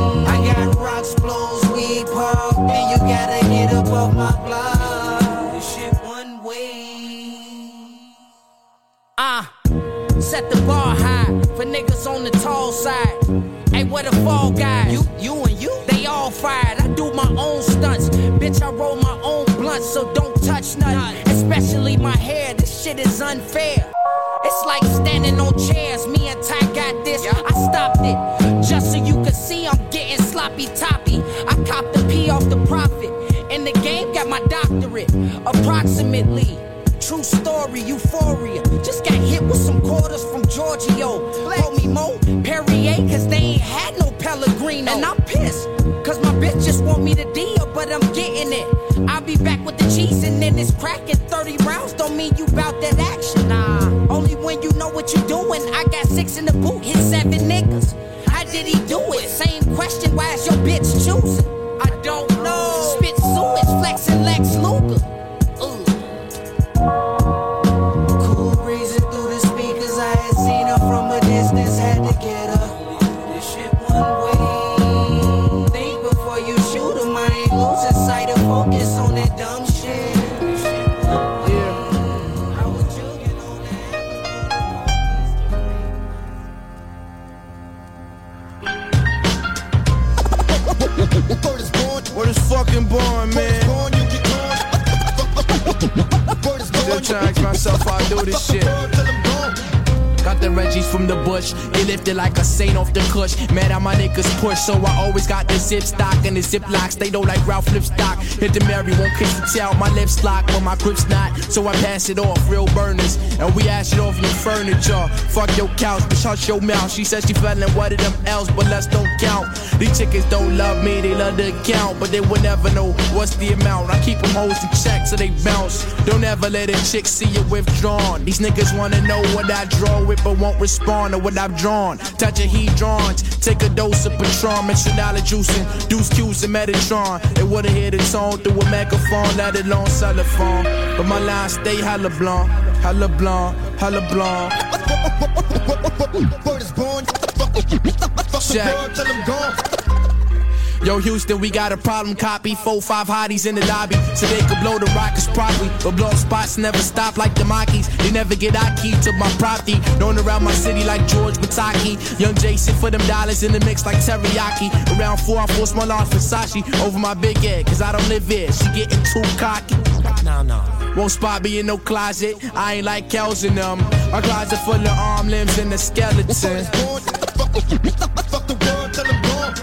Hey, where the fall guys? You and you? They all fired. I do my own stunts. Bitch, I roll my own blunts, so don't touch nothing. Especially my hair, this shit is unfair. It's like standing on chairs. Me and Ty got this. I stopped it just so you could see I'm getting sloppy toppy. I copped the P off the profit. In the game, got my doctorate. Approximately. True story, euphoria. Just got hit with some quarters from Giorgio. Call me Mo Perrier, cause they ain't had no Pellegrino. And I'm pissed, cause my bitch just want me to deal, but I'm getting it. I'll be back with the cheese and then it's cracking. 30 rounds don't mean you bout that action. Nah, only when you know what you doing. I got 6 in the boot, hit 7 niggas. How did he do it? Same question, why is your bitch choosing? I don't know. Spit sewage, flexing Lex Luger. Cool breezing through the speakers. I had seen her from a distance, had to get her. This shit one way. Think before you shoot 'em. I ain't losing sight of focus on that dumb shit. Yeah. I was joking on Word is fucking born, man. Still trying to ask myself how I do this shit. Got the Reggies from the bush. They lifted like a saint off the cush. Man, how my niggas push. So I always got the zip stock and the zip locks. They don't like Ralph Lipstock. Hit the Mary, won't kiss the tail. My lips lock, but my grip's not. So I pass it off, real burners. And we ash it off your furniture. Fuck your couch, bitch, hush your mouth. She said she feeling one of them else, but let's don't count. These chickens don't love me, they love the account. But they will never know what's the amount. I keep them hoes in check so they bounce. Don't ever let a chick see you withdrawn. These niggas wanna know what I draw with, but won't respond to what I've drawn. Touch a heat drawings, take a dose of Patron, Mixinala juicing, Deuce Q's and Metatron. They wouldn't hear the tone through a megaphone, let alone cellophone. But my lines stay hella blonde, hella blonde, hella blonde. Word is born. Check. Yo, Houston, we got a problem, copy. 4-5 hotties in the lobby, so they could blow the rockets properly. But blow spots never stop like the Monkeys. They never get our key to my property. Known around my city like George Bataki. Young Jason for them dollars in the mix like teriyaki. Around 4, I force my large Versace over my big head, cause I don't live here. She getting too cocky. No. Won't spot me in no closet. I ain't like Kels in them. My closet full of arm, limbs, and a skeleton. Fuck the world, tell them gone.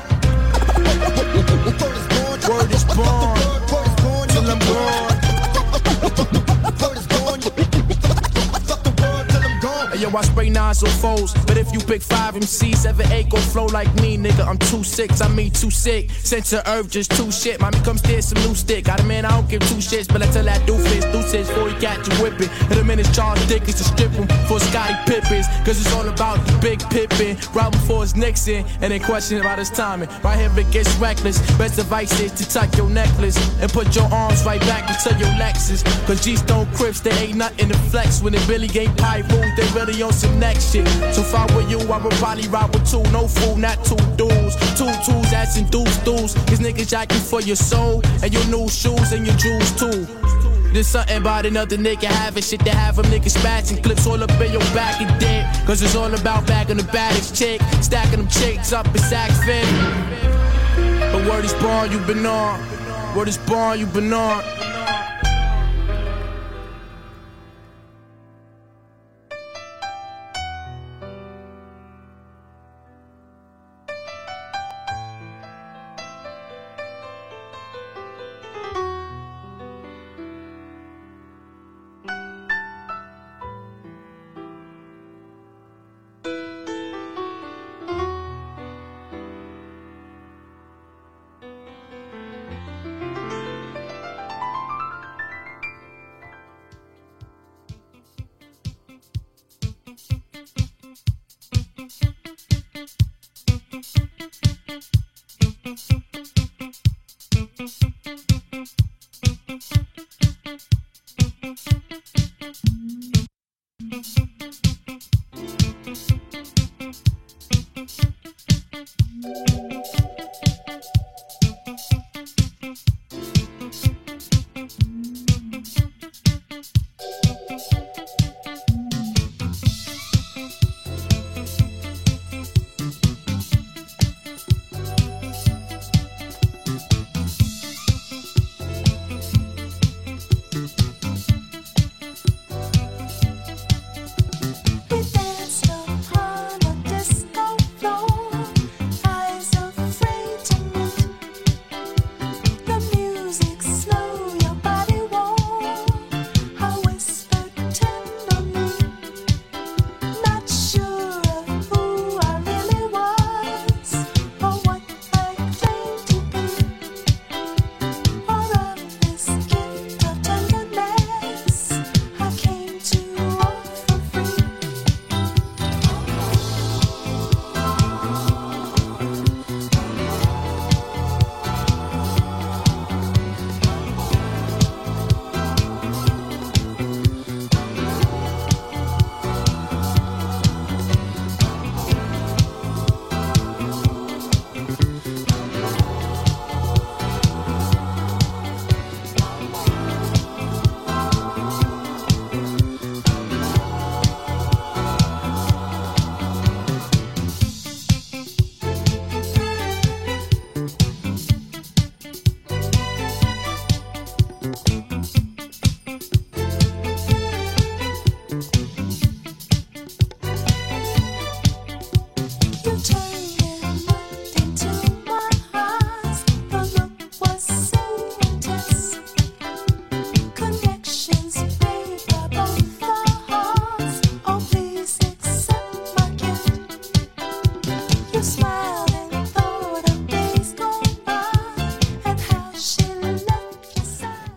Word is born, till I'm gone. Word is born, fuck the world till I'm gone. Yo, I spray 9s on foes, but if you pick 5 MCs, 7-8 gon' flow like me, nigga. I'm 2-6, I mean too sick. Sent to earth, just too shit. Mommy, come steal some new stick. Got a man, I don't give 2 shits, but I tell that doofus, before he catch you whipping. Hit him in his Charles Dickens to strip him for Scottie Pippins, cause it's all about the big Pippin. Right before his Nixon, and then question about his timing. Right here it gets reckless. Best advice is to tuck your necklace and put your arms right back into your Lexus. Cause G-Stone Crips, they ain't nothing to flex. When the Billy ain't pie rules, they really on some next shit. So if I were you, I would probably ride with 2. No fool, not 2 dudes. 2 twos, that's in dudes. Cause niggas jacking for your soul and your new shoes and your jewels too. There's something about another nigga having shit to have them niggas spatching clips all up in your back and dead. Cause it's all about bagging the baddest chick, stacking them chicks up in Saks Fifth. But word is born, you been on. Word is born, you been on.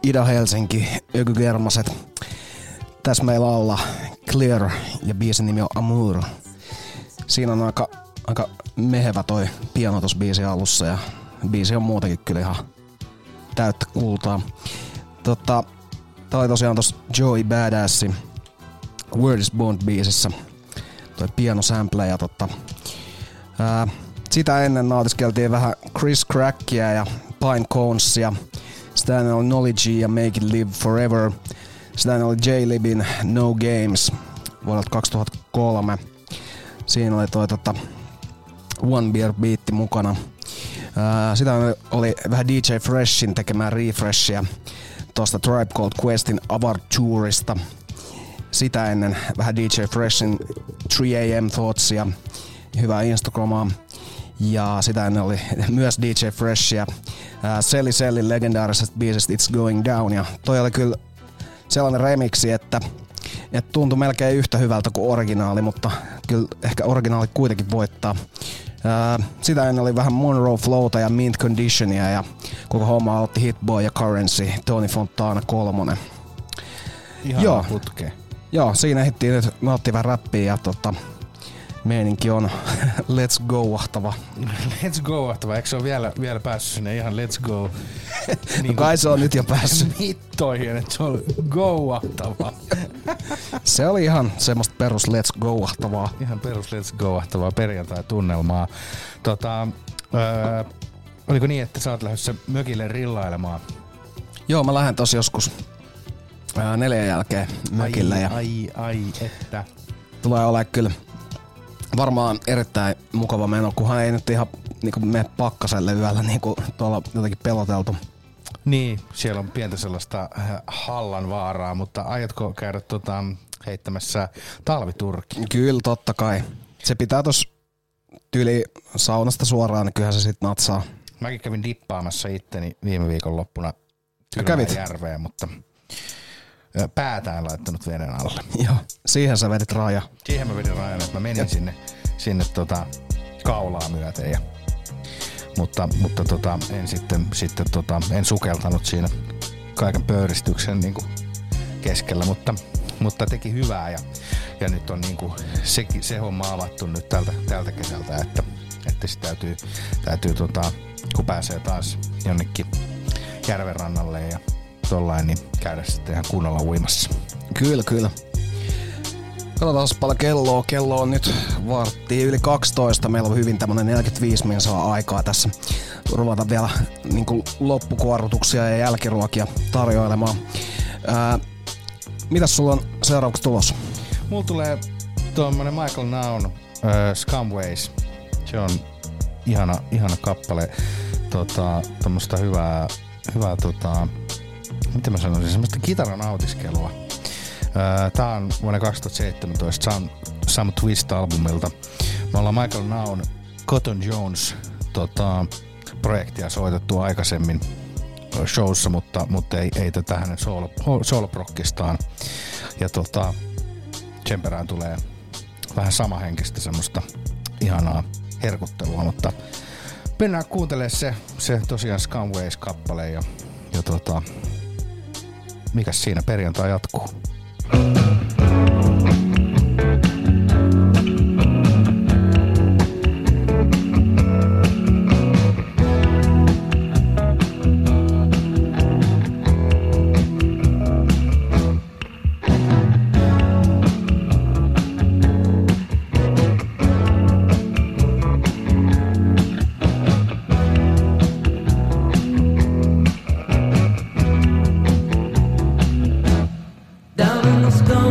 Ida-Helsinki, Ökygermaset. Tässä meillä alla Clear ja biisin nimi on Amour. Siinä on aika mehevä toi piano tossa biisin alussa ja biisi on muutenkin kyllä ihan täyttä kultaa. Tää oli tosiaan tossa Joey Badassin Word is Bond biisissä toi piano sample ja sitä ennen nautiskeltiin vähän Chris Crackia ja Pine Conesia. Sitä ennen oli Knowledge ja Make It Live Forever. Sitä ennen oli J-Libin No Games vuodelta 2003. Siinä oli toi One Beer biitti mukana. Sitä oli vähän DJ Freshin tekemää refreshia tosta Tribe Called Questin Avarturista. Sitä ennen vähän DJ Freshin 3AM Thoughtsia, hyvää Instagramaa. Ja sitä ennen oli myös DJ Freshia Selli Sellin legendaarisesta biisistä It's Going Down. Ja toi oli kyllä sellainen remixi, että tuntui melkein yhtä hyvältä kuin originaali, mutta kyllä ehkä originaali kuitenkin voittaa. Sitä ennen oli vähän Monroe Flowta ja Mint Conditionia ja koko homma aloitti Hitboy ja Currency, Tony Fontana 3. Ihan putkeen. Joo, siinä ehdittiin nyt, me otettiin vähän räppiä ja meininki on let's go-ahtava. Let's go-ahtava, eikö se ole vielä päässyt sinne ihan let's go? No kai se on nyt jo päässyt. Mittoihin, että se on go-ahtava. Se oli ihan semmoista perus let's go-ahtavaa. Ihan perus let's go-ahtavaa perjantai-tunnelmaa. Oliko niin, että sä oot lähdössä mökille rillailemaan? Joo, mä lähden tossa joskus 4 jälkeen mökille. Ai, että. Tulee olemaan kyllä varmaan erittäin mukava meno, kunhan ei nyt ihan niinku mene pakkaselle yöllä niinku tuolla jotenkin peloteltu. Niin, siellä on pientä sellaista hallan vaaraa, mutta aiotko käydä heittämässä talviturkki? Kyllä, totta kai. Se pitää tossa tyyli saunasta suoraan, niin kyllähän se sit natsaa. Mäkin kävin dippaamassa itteni viime viikon loppuna järveen, mutta päätä en laittanut veden alle. Joo, siihen sä vedit raja. Siihen mä vedin rajan, että mä menin sinne kaulaa myöten. Mutta en sukeltanut siinä kaiken pöyristyksen niin kuin keskellä, mutta teki hyvää ja nyt on niin kuin se homma avattu nyt tältä kesältä, että sit täytyy kun pääsee taas jonnekin järvenrannalle ja tollain, niin käydä sitten ihan kunnolla uimassa. Kyllä. Katsotaan paljon kelloa. Kello on nyt varttia yli 12. Meillä on hyvin tämmönen 45 minsaa aikaa tässä ruvata vielä niin kuin loppukuorrutuksia ja jälkiruokia tarjoilemaan. Mitäs sulla on seuraavaksi tulossa? Mulla tulee tuommoinen Michael Naun Scumways. Se on ihana kappale. Tommoista hyvää miten mä sanoisin, semmoista kitaran nautiskelua. Tää on vuonna 2017 Some Twist-albumilta. Me ollaan Michael Naun Cotton Jones projektia soitettu aikaisemmin showssa, mutta ei tätä hänen sooloprokkistaan. Ja sen perään tulee vähän samahenkistä semmoista ihanaa herkuttelua, mutta mennään kuuntelemaan se tosiaan Scumways-kappale ja mikäs siinä perjantai jatkuu? Down in the stone.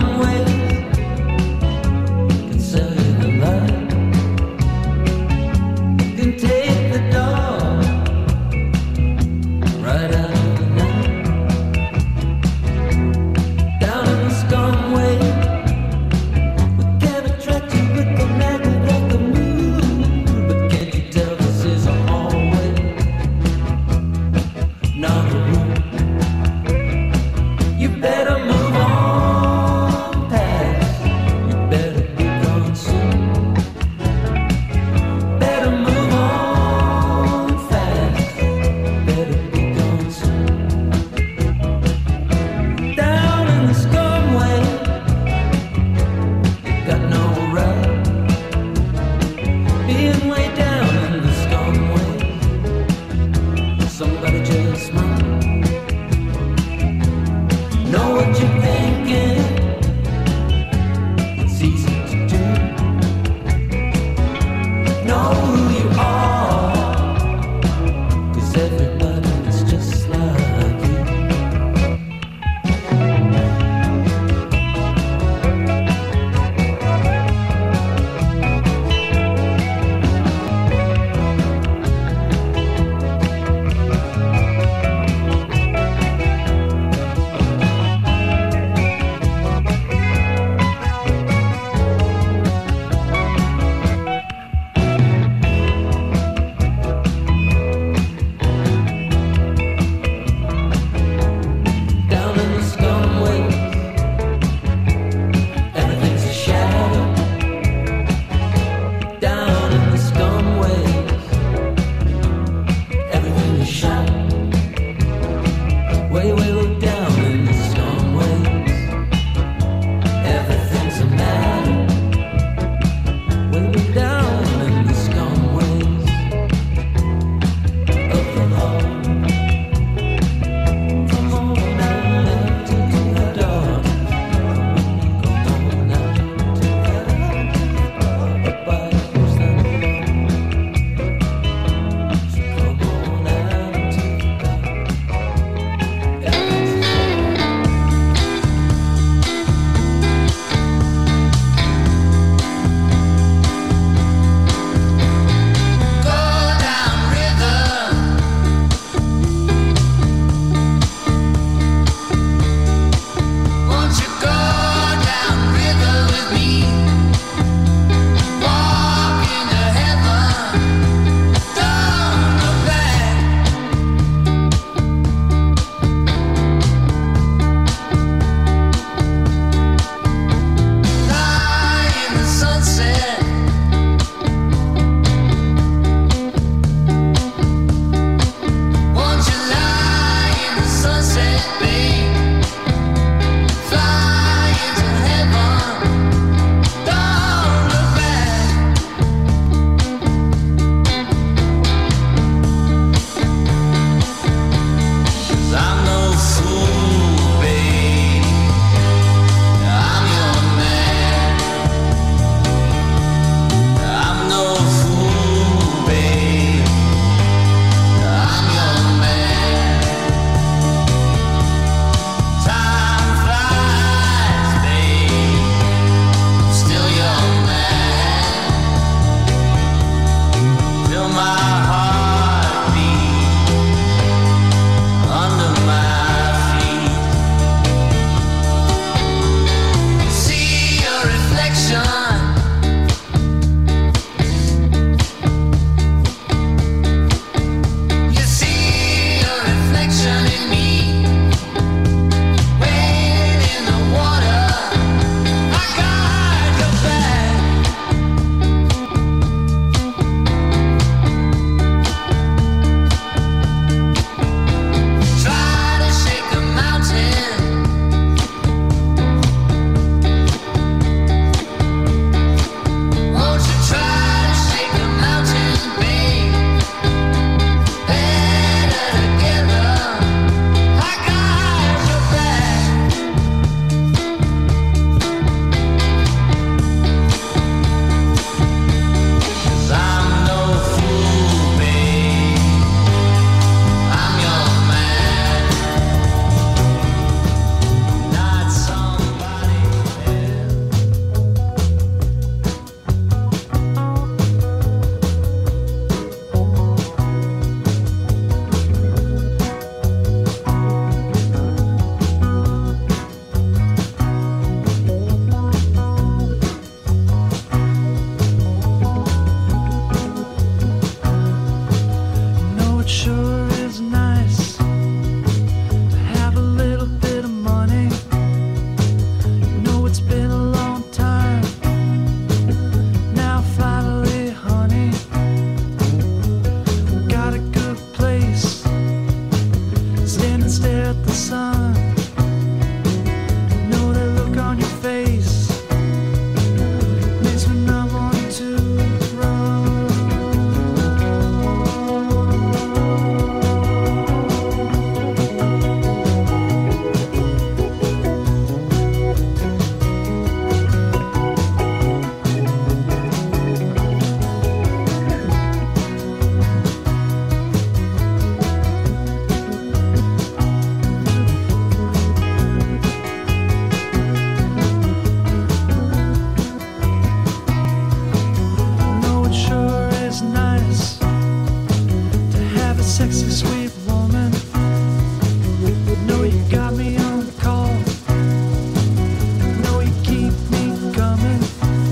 Sexy sweet woman, know you got me on the call. Know you keep me coming.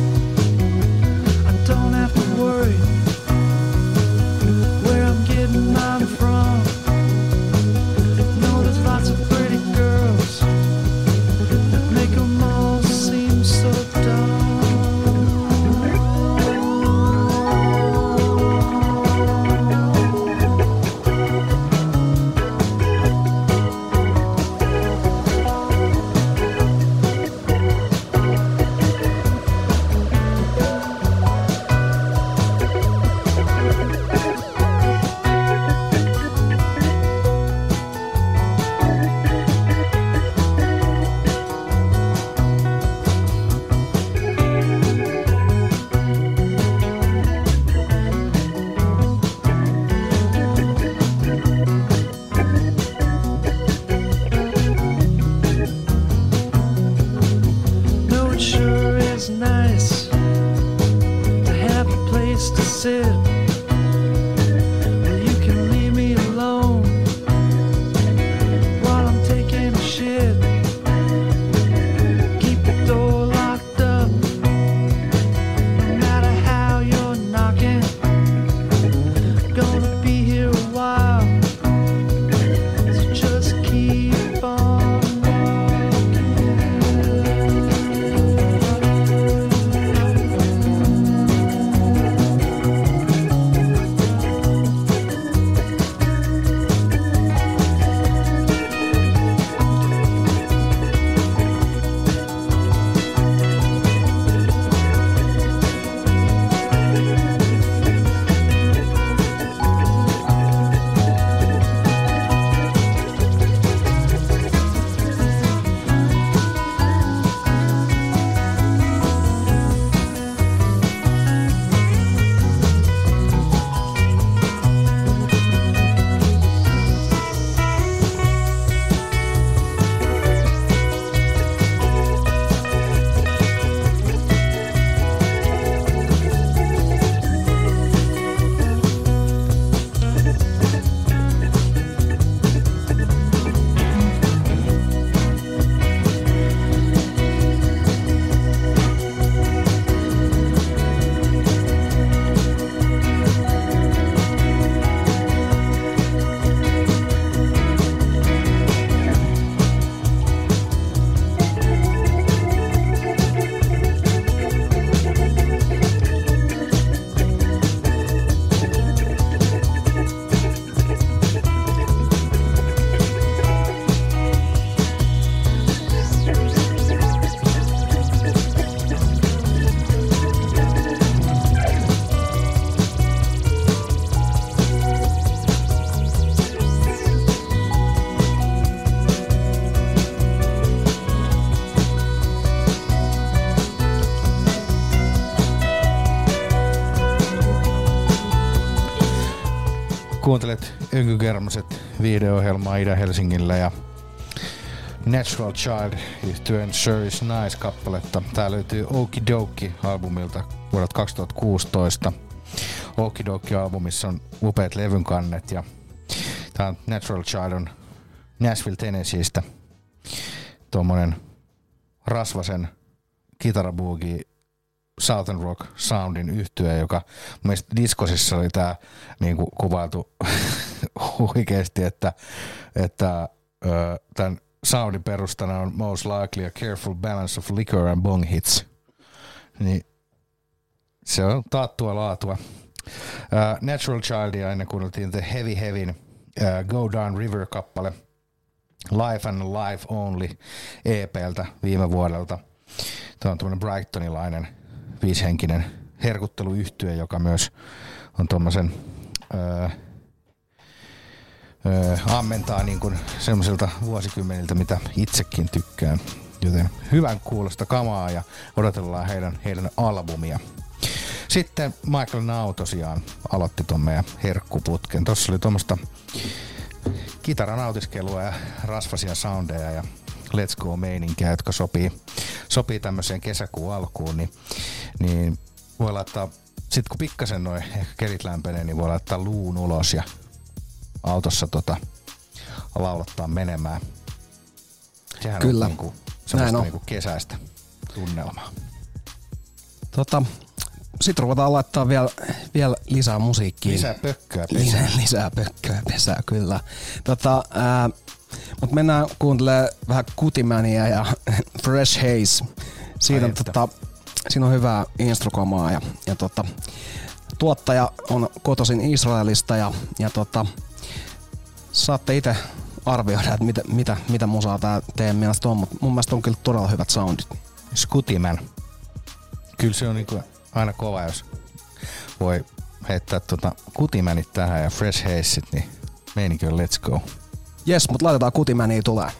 I don't have to worry where I'm getting mine from. Know there's lots of pretty girls that make them all seem so dumb. No, it sure is nice to have a place to sit where you can leave me alone while I'm taking a shit. Keep the door locked up, no matter how you're knocking. Gonna be here a while, so just keep on Kuuntelet Önkykermaset video-ohjelmaa Itä-Helsingillä ja Natural Child yhtyeen Sure Is Nice-kappaletta. Tää löytyy Okidoki-albumilta vuodelta 2016. Okidoki-albumissa on upeat levyn kannet ja tää on Natural Child on Nashville, Tennesseestä. Tuommoinen rasvasen kitarabuugi Southern Rock Soundin yhtye, joka mun mielestä diskosissa oli tää niinku kuvailtu huikeesti, että tämän soundin perustana on most likely a careful balance of liquor and bong hits. Niin se on taattua laatua. Natural Childia ennen kuunneltiin The Heavy Heavyn Go Down River-kappale Life and Life Only EP:ltä viime vuodelta. Tämä on tämmöinen Brightonilainen 5-henkinen herkutteluyhtye, joka myös on tommosen ammentaa niin kuin semmoisilta vuosikymmeniltä, mitä itsekin tykkään. Joten hyvän kuulosta kamaa ja odotellaan heidän albumia. Sitten Michael Now tosiaan aloitti ton meidän herkkuputken. Tossa oli tuommoista kitaranautiskelua ja rasvasia soundeja ja Let's Go-meininkiä, jotka sopii tämmöiseen kesäkuun alkuun, niin voi laittaa, sit kun pikkasen noin ehkä kelit lämpenee, niin voi laittaa luun ulos ja autossa laulattaa menemään. Sehän Kyllä. on niinku semmoista niinku kesäistä tunnelmaa. Sitten ruvetaan laittaa vielä lisää musiikkia. Lisää pökköä pesää. Lisää pökköä pesää, kyllä. Mutta mennään kuuntelemaan vähän Kutimania ja Fresh Haze. Siinä on hyvää instrukamaa ja tuottaja on kotoisin Israelista ja saatte itse arvioida, että mitä musaa tää teidän mielestä on, mutta mun mielestä on kyllä todella hyvät soundit. Skutiman. Kyllä se on niinku aina kova, jos voi heittää Kutimanit tähän ja Fresh Hazeit, niin meininki on let's go. Jes, mut laitetaan Kutimania tulee.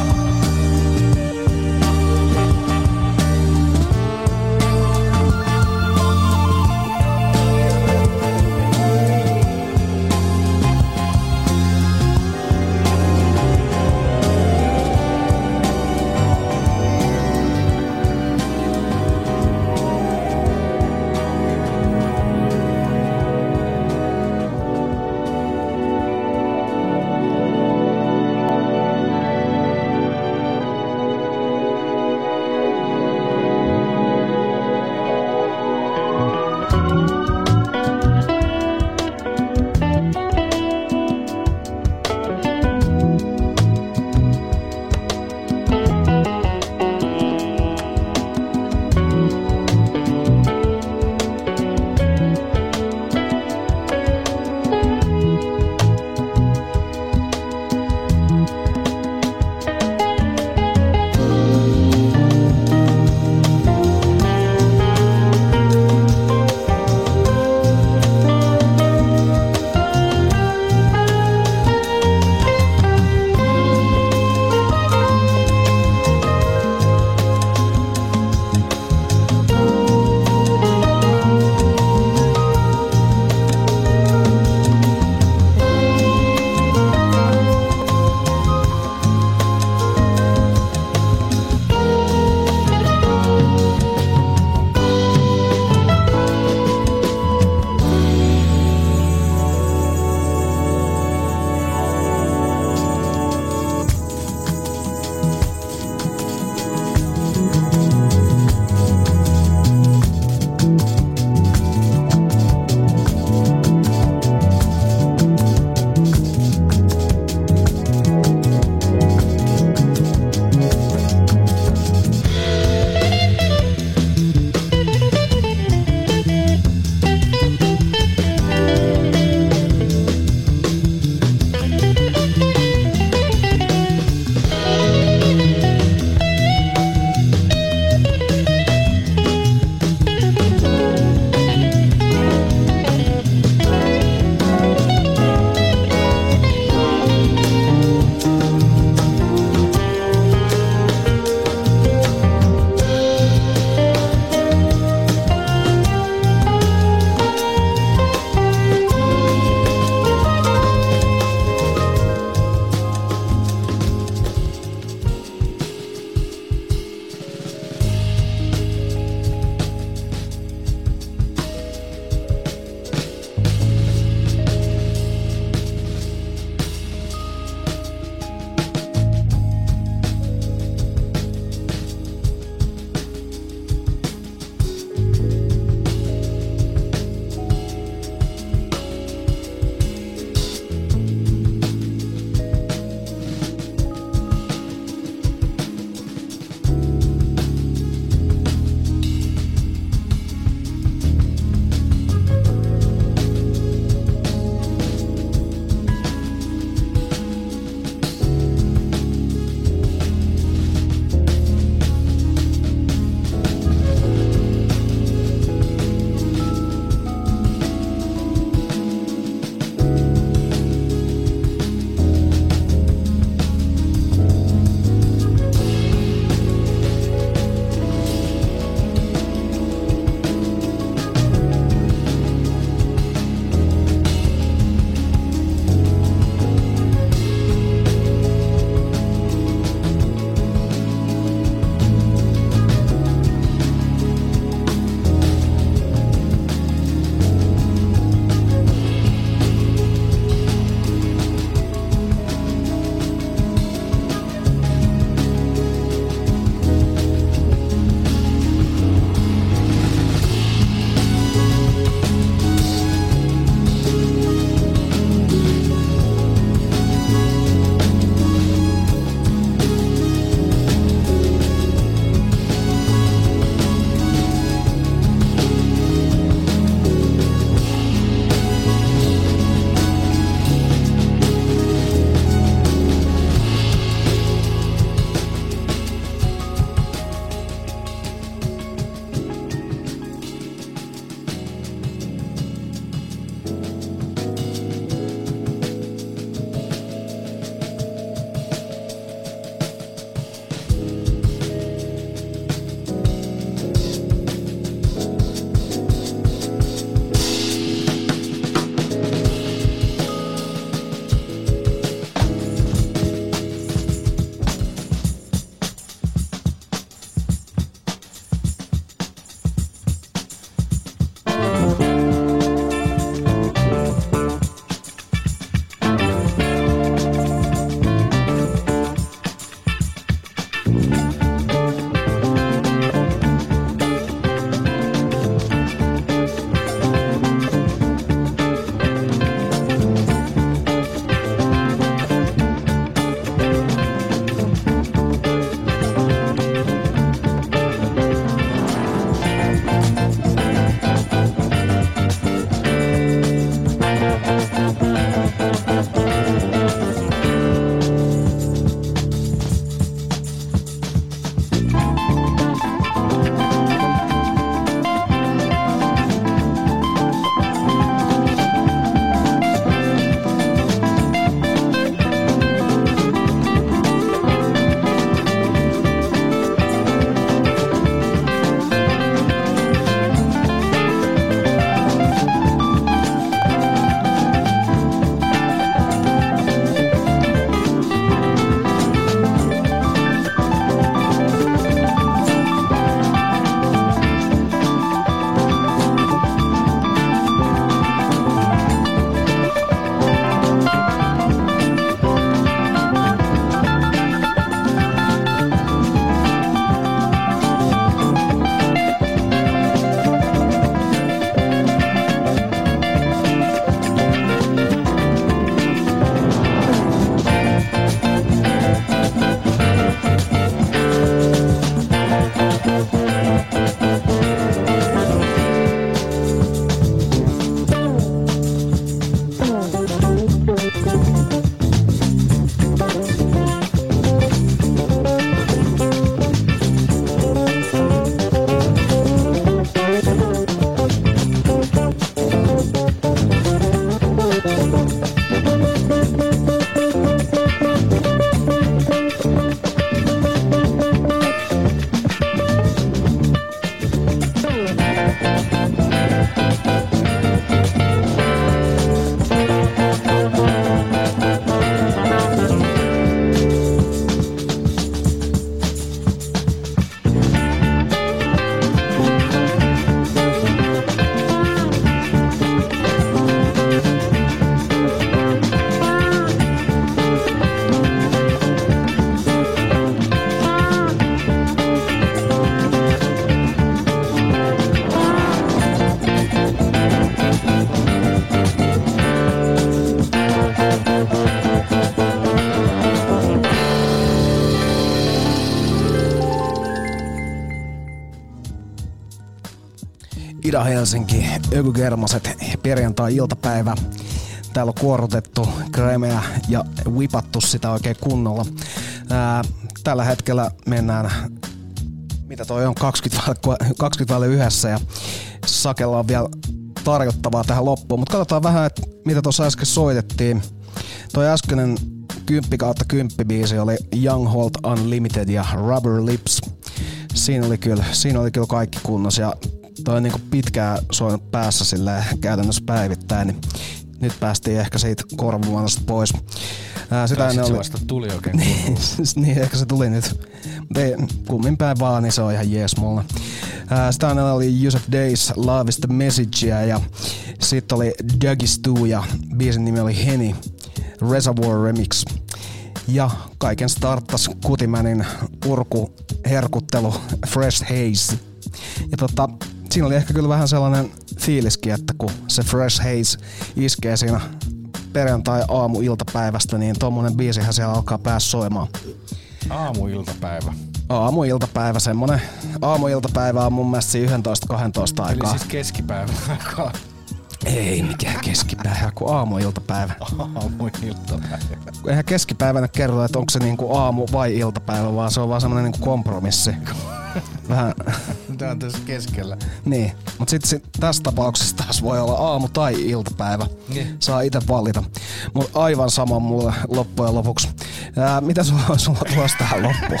Ida-Helsinki, Ökygermaset, perjantai-iltapäivä. Täällä on kuorutettu kremeä ja whipattu sitä oikein kunnolla. Tällä hetkellä mennään, mitä toi on, 20 ja Sakella on vielä tarjottavaa tähän loppuun. Mutta katsotaan vähän, että mitä tuossa äsken soitettiin. Toi äskeinen 10/10 biisi oli Young Holt Unlimited ja Rubber Lips. Siinä oli kyllä kaikki kunnossa ja toi on niinku pitkään soinut päässä silleen käytännössä päivittäin, niin nyt päästiin ehkä siitä korvamuodosta pois. Sitä se vasta tuli oikein niin, ehkä se tuli nyt. Mutta ei, kummin päin vaan, niin se on ihan jees mulle. Sitä oli Yusuf Days, Love is the Message, ja sitten oli Dougie Stu ja biisin nimi oli Henny, Reservoir Remix. Ja kaiken starttas Kutimänin urkuherkuttelu Fresh Haze. Ja siinä oli ehkä kyllä vähän sellainen fiiliskin, että kun se Fresh Haze iskee siinä perjantai-aamu-iltapäivästä, niin tommonen biisihän siellä alkaa päässä soimaan. Aamu-iltapäivä. Aamu-iltapäivä, semmonen aamu-iltapäivä on mun mielestä 11-12 aikaa. Eli siis keskipäivän aikaa. Ei mikään keskipäivä, kun aamu-iltapäivä. Aamu-iltapäivä. Eihän keskipäivänä kerro, että onko se niinku aamu vai iltapäivä, vaan se on vaan semmonen niinku kompromissi. Vähän. Tää on tässä keskellä. Niin, mut sit tässä tapauksessa taas voi olla aamu tai iltapäivä. Saa itse valita. Mut aivan sama mulle loppujen lopuksi. Mitä sulla tulossa tähän loppuun?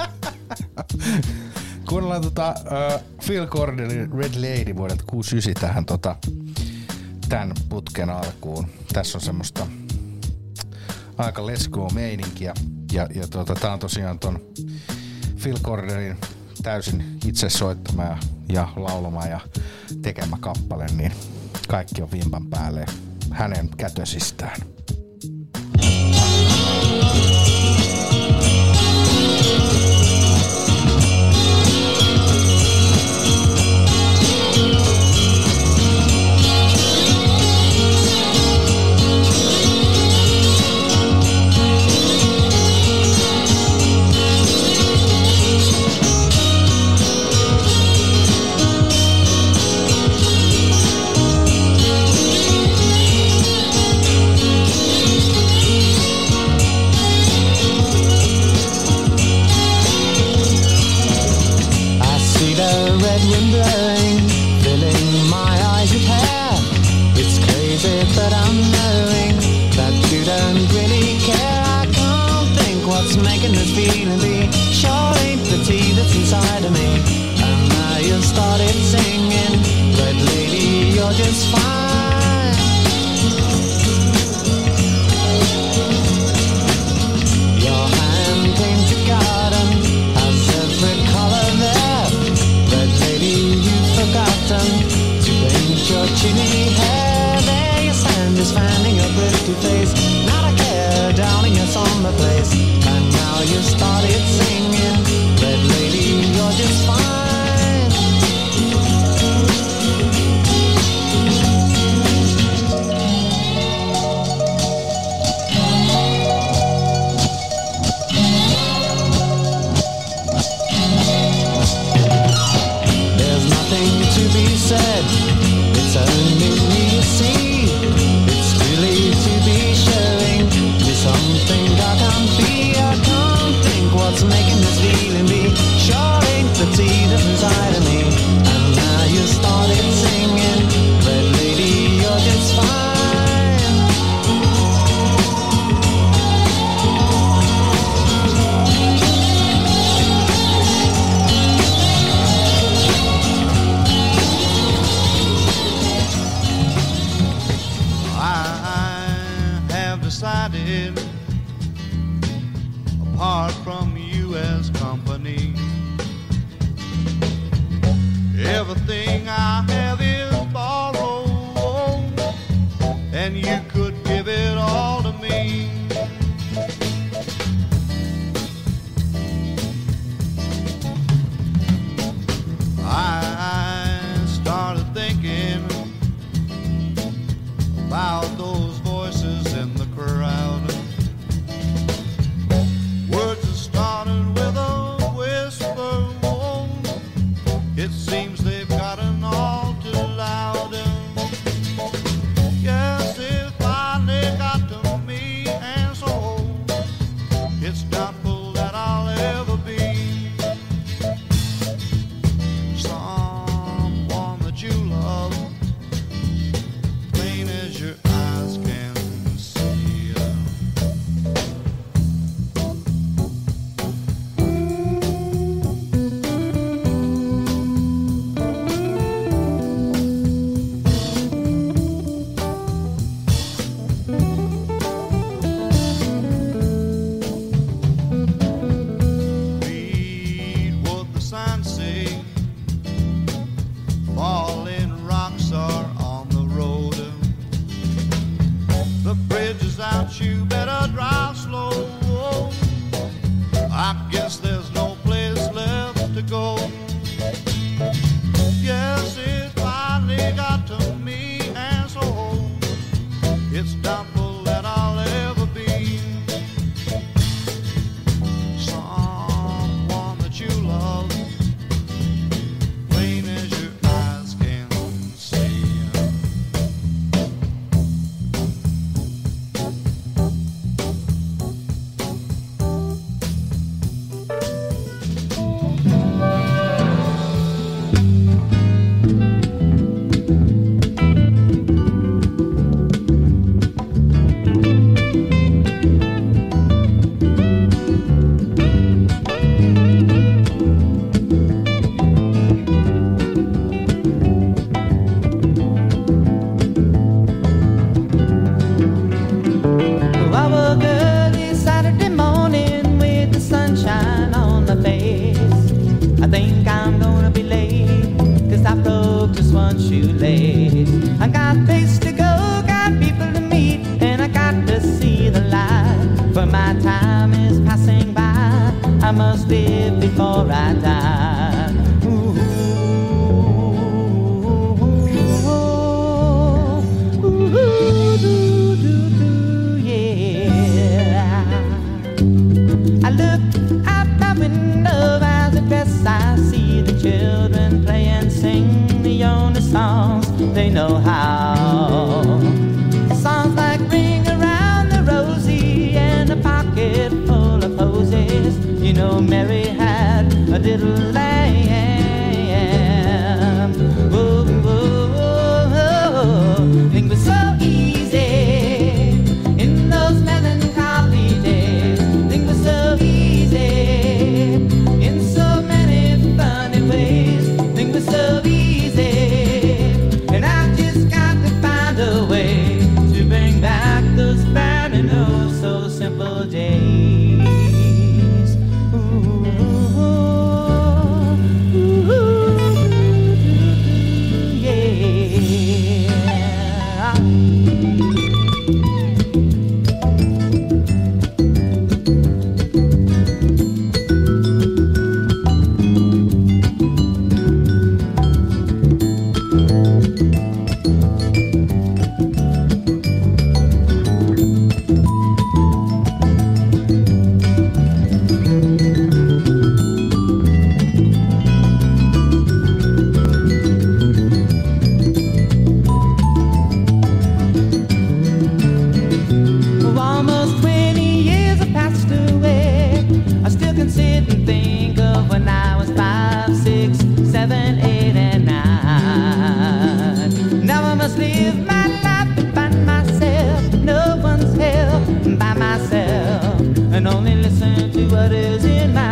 Kuunnellaan Phil Cordelin Red Lady vuodelta 69 tähän tän putken alkuun. Tässä on semmoista aika let's go meininkiä. Ja tää on tosiaan ton Phil Cordelin täysin itse soittama ja laulama ja tekemä kappale, niin kaikki on vimpan päälle hänen kätösistään. It seems they've got an all lights out, you better drive slow. I guess there's no place left to go. Yes, it finally got to me, and so it's doubtful that I'll ever be someone that you love, plain as your eyes can see. I woke early Saturday morning with the sunshine on my face. I think I'm gonna be late, 'cause I broke just one shoelace. I got place to go, got people to meet, and I got to see the light. For my time is passing by, I must live before I die. I look out my window as I dress, I see the children play and sing the only songs they know how. Songs like Ring Around the Rosie and a pocket full of posies. You know Mary had a little lamb. Whoa, whoa, whoa. Things were so easy in those melancholy days. Things were so easy in so many funny ways. Things were so easy, and I just got to find a way to bring back those fine and oh so simple days. Almost 20 years have passed away. I still can sit and think of when I was 5, 6, 7, 8, and 9. Now I must live my life and find myself. No one's help by myself, and only listen to what is in my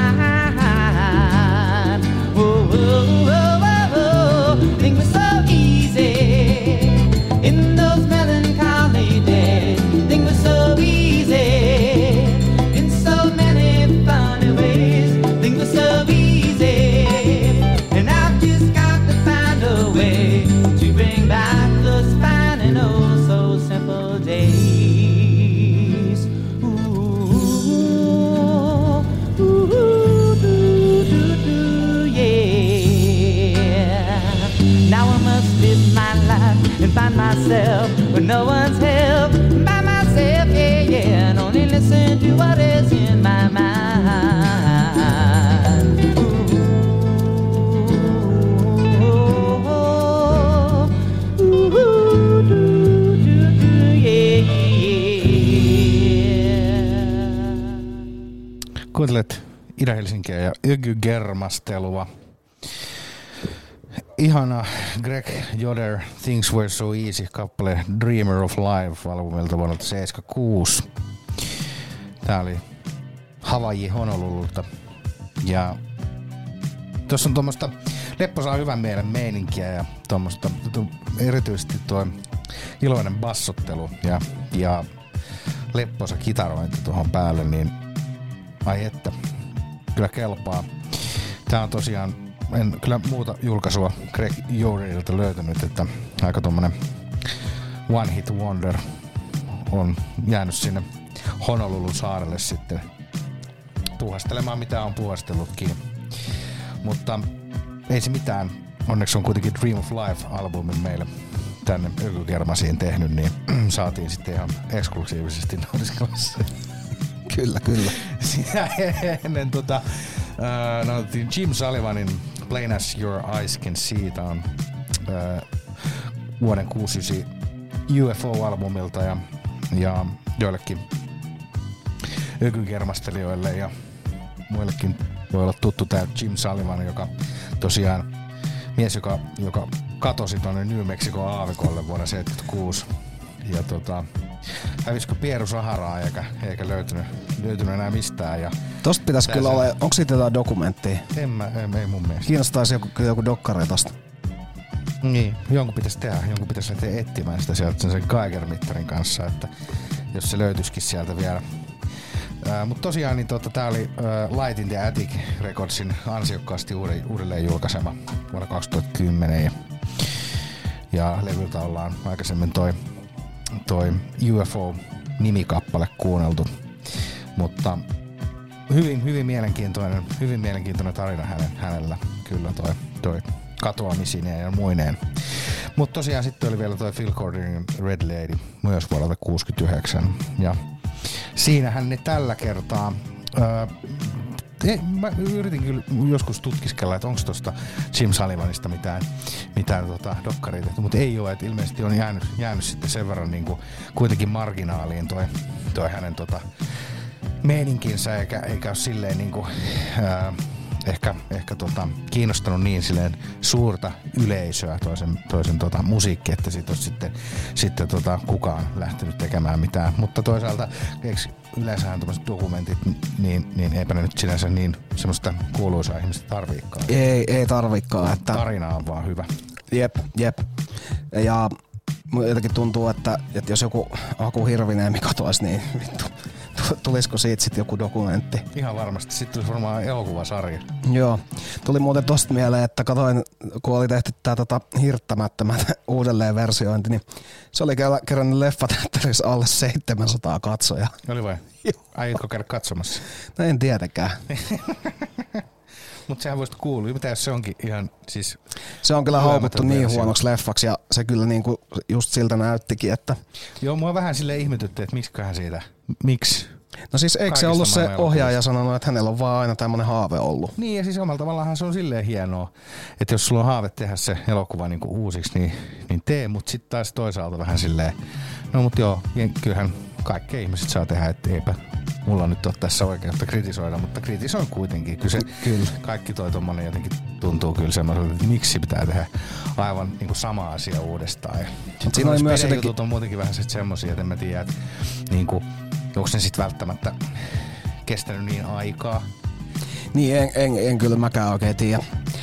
mind. Whoa, whoa, whoa, whoa, whoa. Things were so easy in those melancholy days. Things were so easy in so many funny ways. Things were so easy, and I've just got to find a way to bring back those fine and oh so simple days. Ooh, ooh, do, do, do, yeah. Now I must live my life and find myself with no one's help. By myself, yeah, yeah, and only listen to what is in my mind. Ooh, do, do, do, yeah, yeah. Kuuntelet Ida-Helsinkiä ja Ygy-germastelua. Ihana Greg Yoder, Things Were So Easy, kappale Dreamer of Life albumilta vuonna 1976. Tää oli Hawaii Honolululta. Ja tossa on tuommoista lepposaa hyvän mielen meininkiä ja tuommoista erityisesti tuo iloinen bassottelu ja lepposa kitarointi tuohon päälle, niin ai että, kyllä kelpaa. Tää on tosiaan, en kyllä muuta julkaisua Greg Yoderilta löytänyt, että aika tommonen one hit wonder on jäänyt sinne Honolulun saarelle sitten puhastelemaan mitä on puhastellutkin. Mutta ei se mitään. Onneksi on kuitenkin Dream of Life-albumin meille tänne Ökykermasiin tehnyt, niin saatiin sitten ihan eksklusiivisesti nautiskella. Kyllä. Siinä ennen nautittiin Jim Sullivanin Plain as Your Eyes Can See. Tää on vuoden 69 UFO-albumilta ja joillekin ökykermastelijoille ja muillekin voi olla tuttu tää Jim Sullivan, joka tosiaan mies, joka katosi tuonne New Mexico aavikolle vuonna 1976. Ja hävisikö Pieru Saharaa eikä löytynyt enää mistään. Ja tosta pitäisi kyllä olla, onko siitä jotain dokumenttia? Ei mun mielestä. Kiinnostaisi joku dokkari tosta. Niin, jonkun pitäisi tehdä, jonkun pitäisi lähteä etsimään sitä sieltä sen Geiger-mittarin kanssa, että jos se löytyisikin sieltä vielä. Mutta tosiaan niin tää oli Light in the Attic Recordsin ansiokkaasti uudelleen julkaisema vuonna 2010 ja levyltä ollaan aikaisemmin toi UFO-nimikappale kuunneltu, mutta hyvin mielenkiintoinen tarina hänellä kyllä toi katoamisineen ja muineen. Mutta tosiaan sitten oli vielä toi Phil Corderin Red Lady myös vuodelta 69 ja siinähän ne tällä kertaa mä yritin kyllä joskus tutkiskella, että onko tuosta Jim Sullivanista mitään dokkaria tehty, mutta ei ole, että ilmeisesti on jäänyt sitten sen verran niinku kuitenkin marginaaliin toi hänen meininkinsä eikä ole silleen niinku ehkä kiinnostanut niin silleen suurta yleisöä toisen musiikki, että siitä olisi sitten kukaan lähtenyt tekemään mitään. Mutta toisaalta yleensähän tämmöiset dokumentit, niin eipä ne nyt sinänsä niin semmoista kuuluisaa ihmistä tarviikaan. Ei tarviikaan. Että tarina on vaan hyvä. Jep. Ja jotenkin tuntuu, että jos joku Aku Hirviniemi katoaisi, niin vittu. Tulisiko siitä sitten joku dokumentti? Ihan varmasti. Sitten tulisi varmaan elokuvasarja. Joo. Tuli muuten tosta mieleen, että katoin, kun oli tehty tää Hirttämättömät uudelleenversiointi, niin se oli kerännyt leffateatterissa alle 700 katsojaa. Oli vai? Aiotko käydä katsomassa? No en tietenkään. Mutta sehän voisi kuulua. Mitä jos se onkin ihan siis... Se on kyllä haukuttu niin huonoksi leffaksi ja se kyllä niinku just siltä näyttikin, että... Joo, mua vähän silleen ihmetytti, että miksiköhän siitä... Miksi? No siis eikö se ollut se ohjaaja sanonut, että hänellä on vaan aina tämmönen haave ollut? Niin ja siis omalla tavallaan se on silleen hienoa, että jos sulla on haave tehdä se elokuva niinku uusiksi, niin tee, mutta sitten taas toisaalta vähän silleen... No mut joo, kyllähän kaikki ihmiset saa tehdä, että eipä mulla nyt ole tässä oikeutta kritisoida, mutta kritisoin kuitenkin. Kyllä. Kaikki toi tommonen jotenkin tuntuu kyllä semmoiselta, että miksi pitää tehdä aivan niinku sama asia uudestaan. Siinä oli myös jotenkin... on muutenkin vähän semmosia, että en mä tiedä, että niinku, onko ne sit välttämättä kestänyt niin aikaa. Niin, en kyllä mäkään oikein tiedä.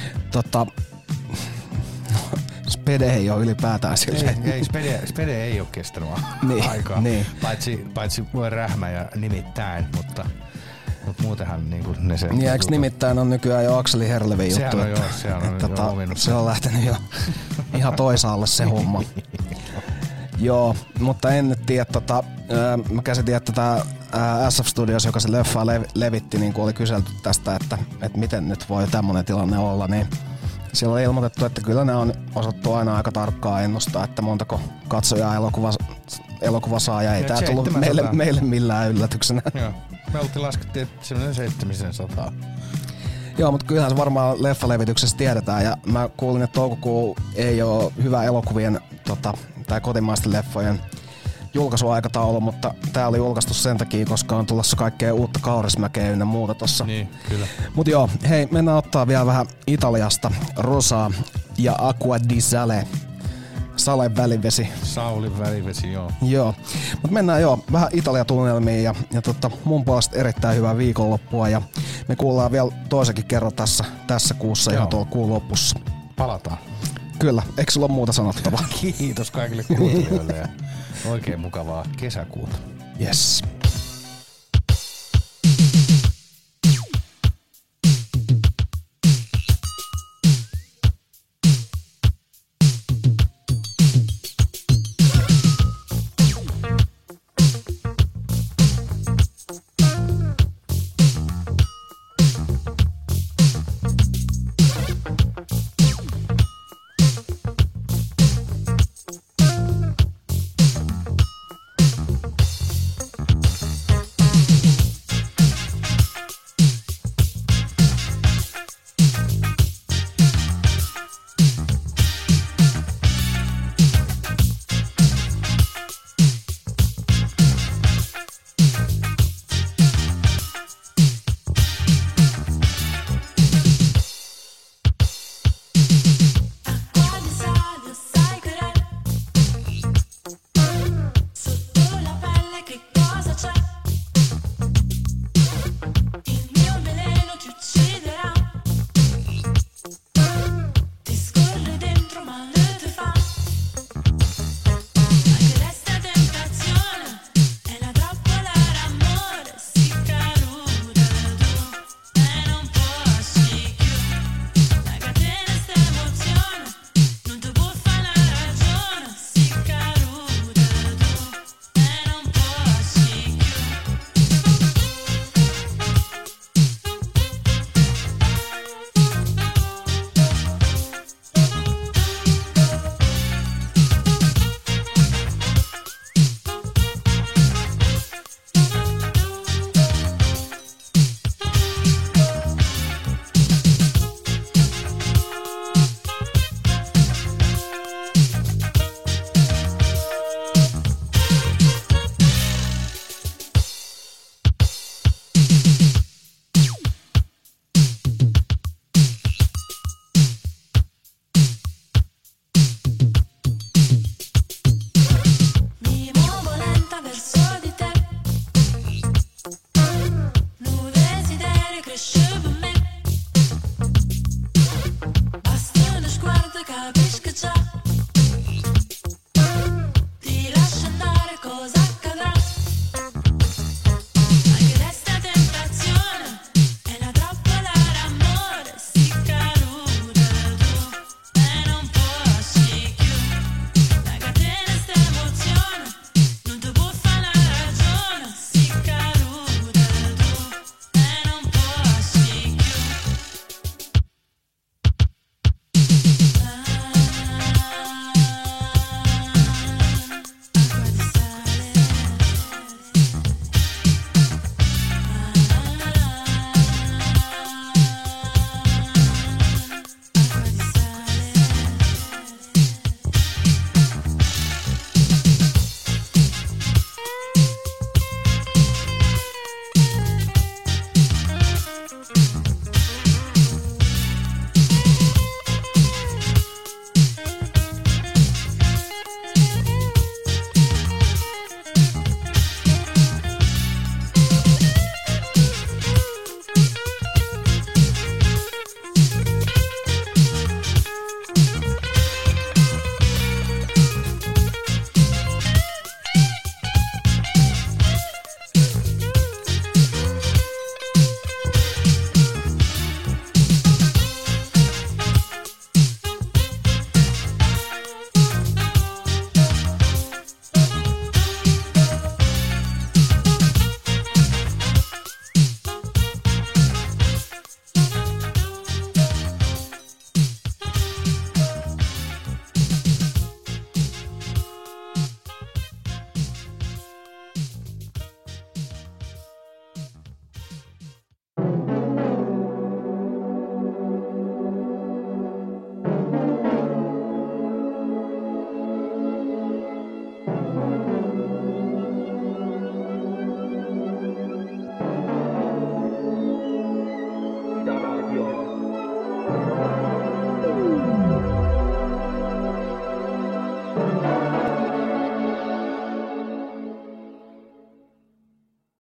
Spede ei ole ylipäätään silleen. Ei Spede ei ole kestänyt aikaa. Niin. Paitsi voi rähmä ja nimittäin, mutta muutenhan niinku ne se... Niin, eikö nimittäin on nykyään jo Akseli Herlevin juttu? Sehän on jo ominut. Se on lähtenyt jo ihan toisaalle se homma. Joo, mutta en nyt tiedä, mä käsitin, että tää SF Studios, joka se leffaa levitti, niin kun oli kyselty tästä, että miten nyt voi tämmönen tilanne olla, niin siellä oli ilmoitettu, että kyllä ne on osattu aina aika tarkkaan ennustaa, että montako katsojaa elokuva saa ja ei tää tullut meille millään yllätyksenä. Joo, me laskettiin, että semmoinen 700. Joo, mutta kyllähän se varmaan leffalevityksessä tiedetään ja mä kuulin, että toukokuu ei ole hyvä elokuvien tai kotimaisten leffojen julkaisuaikataulu, mutta tää oli julkaistu sen takia, koska on tulossa kaikkea uutta Kaurismäkeä ynnä muuta tossa. Niin, kyllä. Mut joo, hei, mennään ottaa vielä vähän Italiasta. Rosaa ja Acqua di Sale. Salen välivesi. Saulin välivesi, joo. Joo, mut mennään vähän Italia-tunnelmiin ja mun puolesta erittäin hyvää viikonloppua ja me kuullaan vielä toisenkin kerran tässä kuussa ihan tuolla kuun lopussa. Palataan. Kyllä, eikö sulla ole muuta sanottavaa? Kiitos kaikille kuuntelijoille ja oikein mukavaa kesäkuuta. Yes.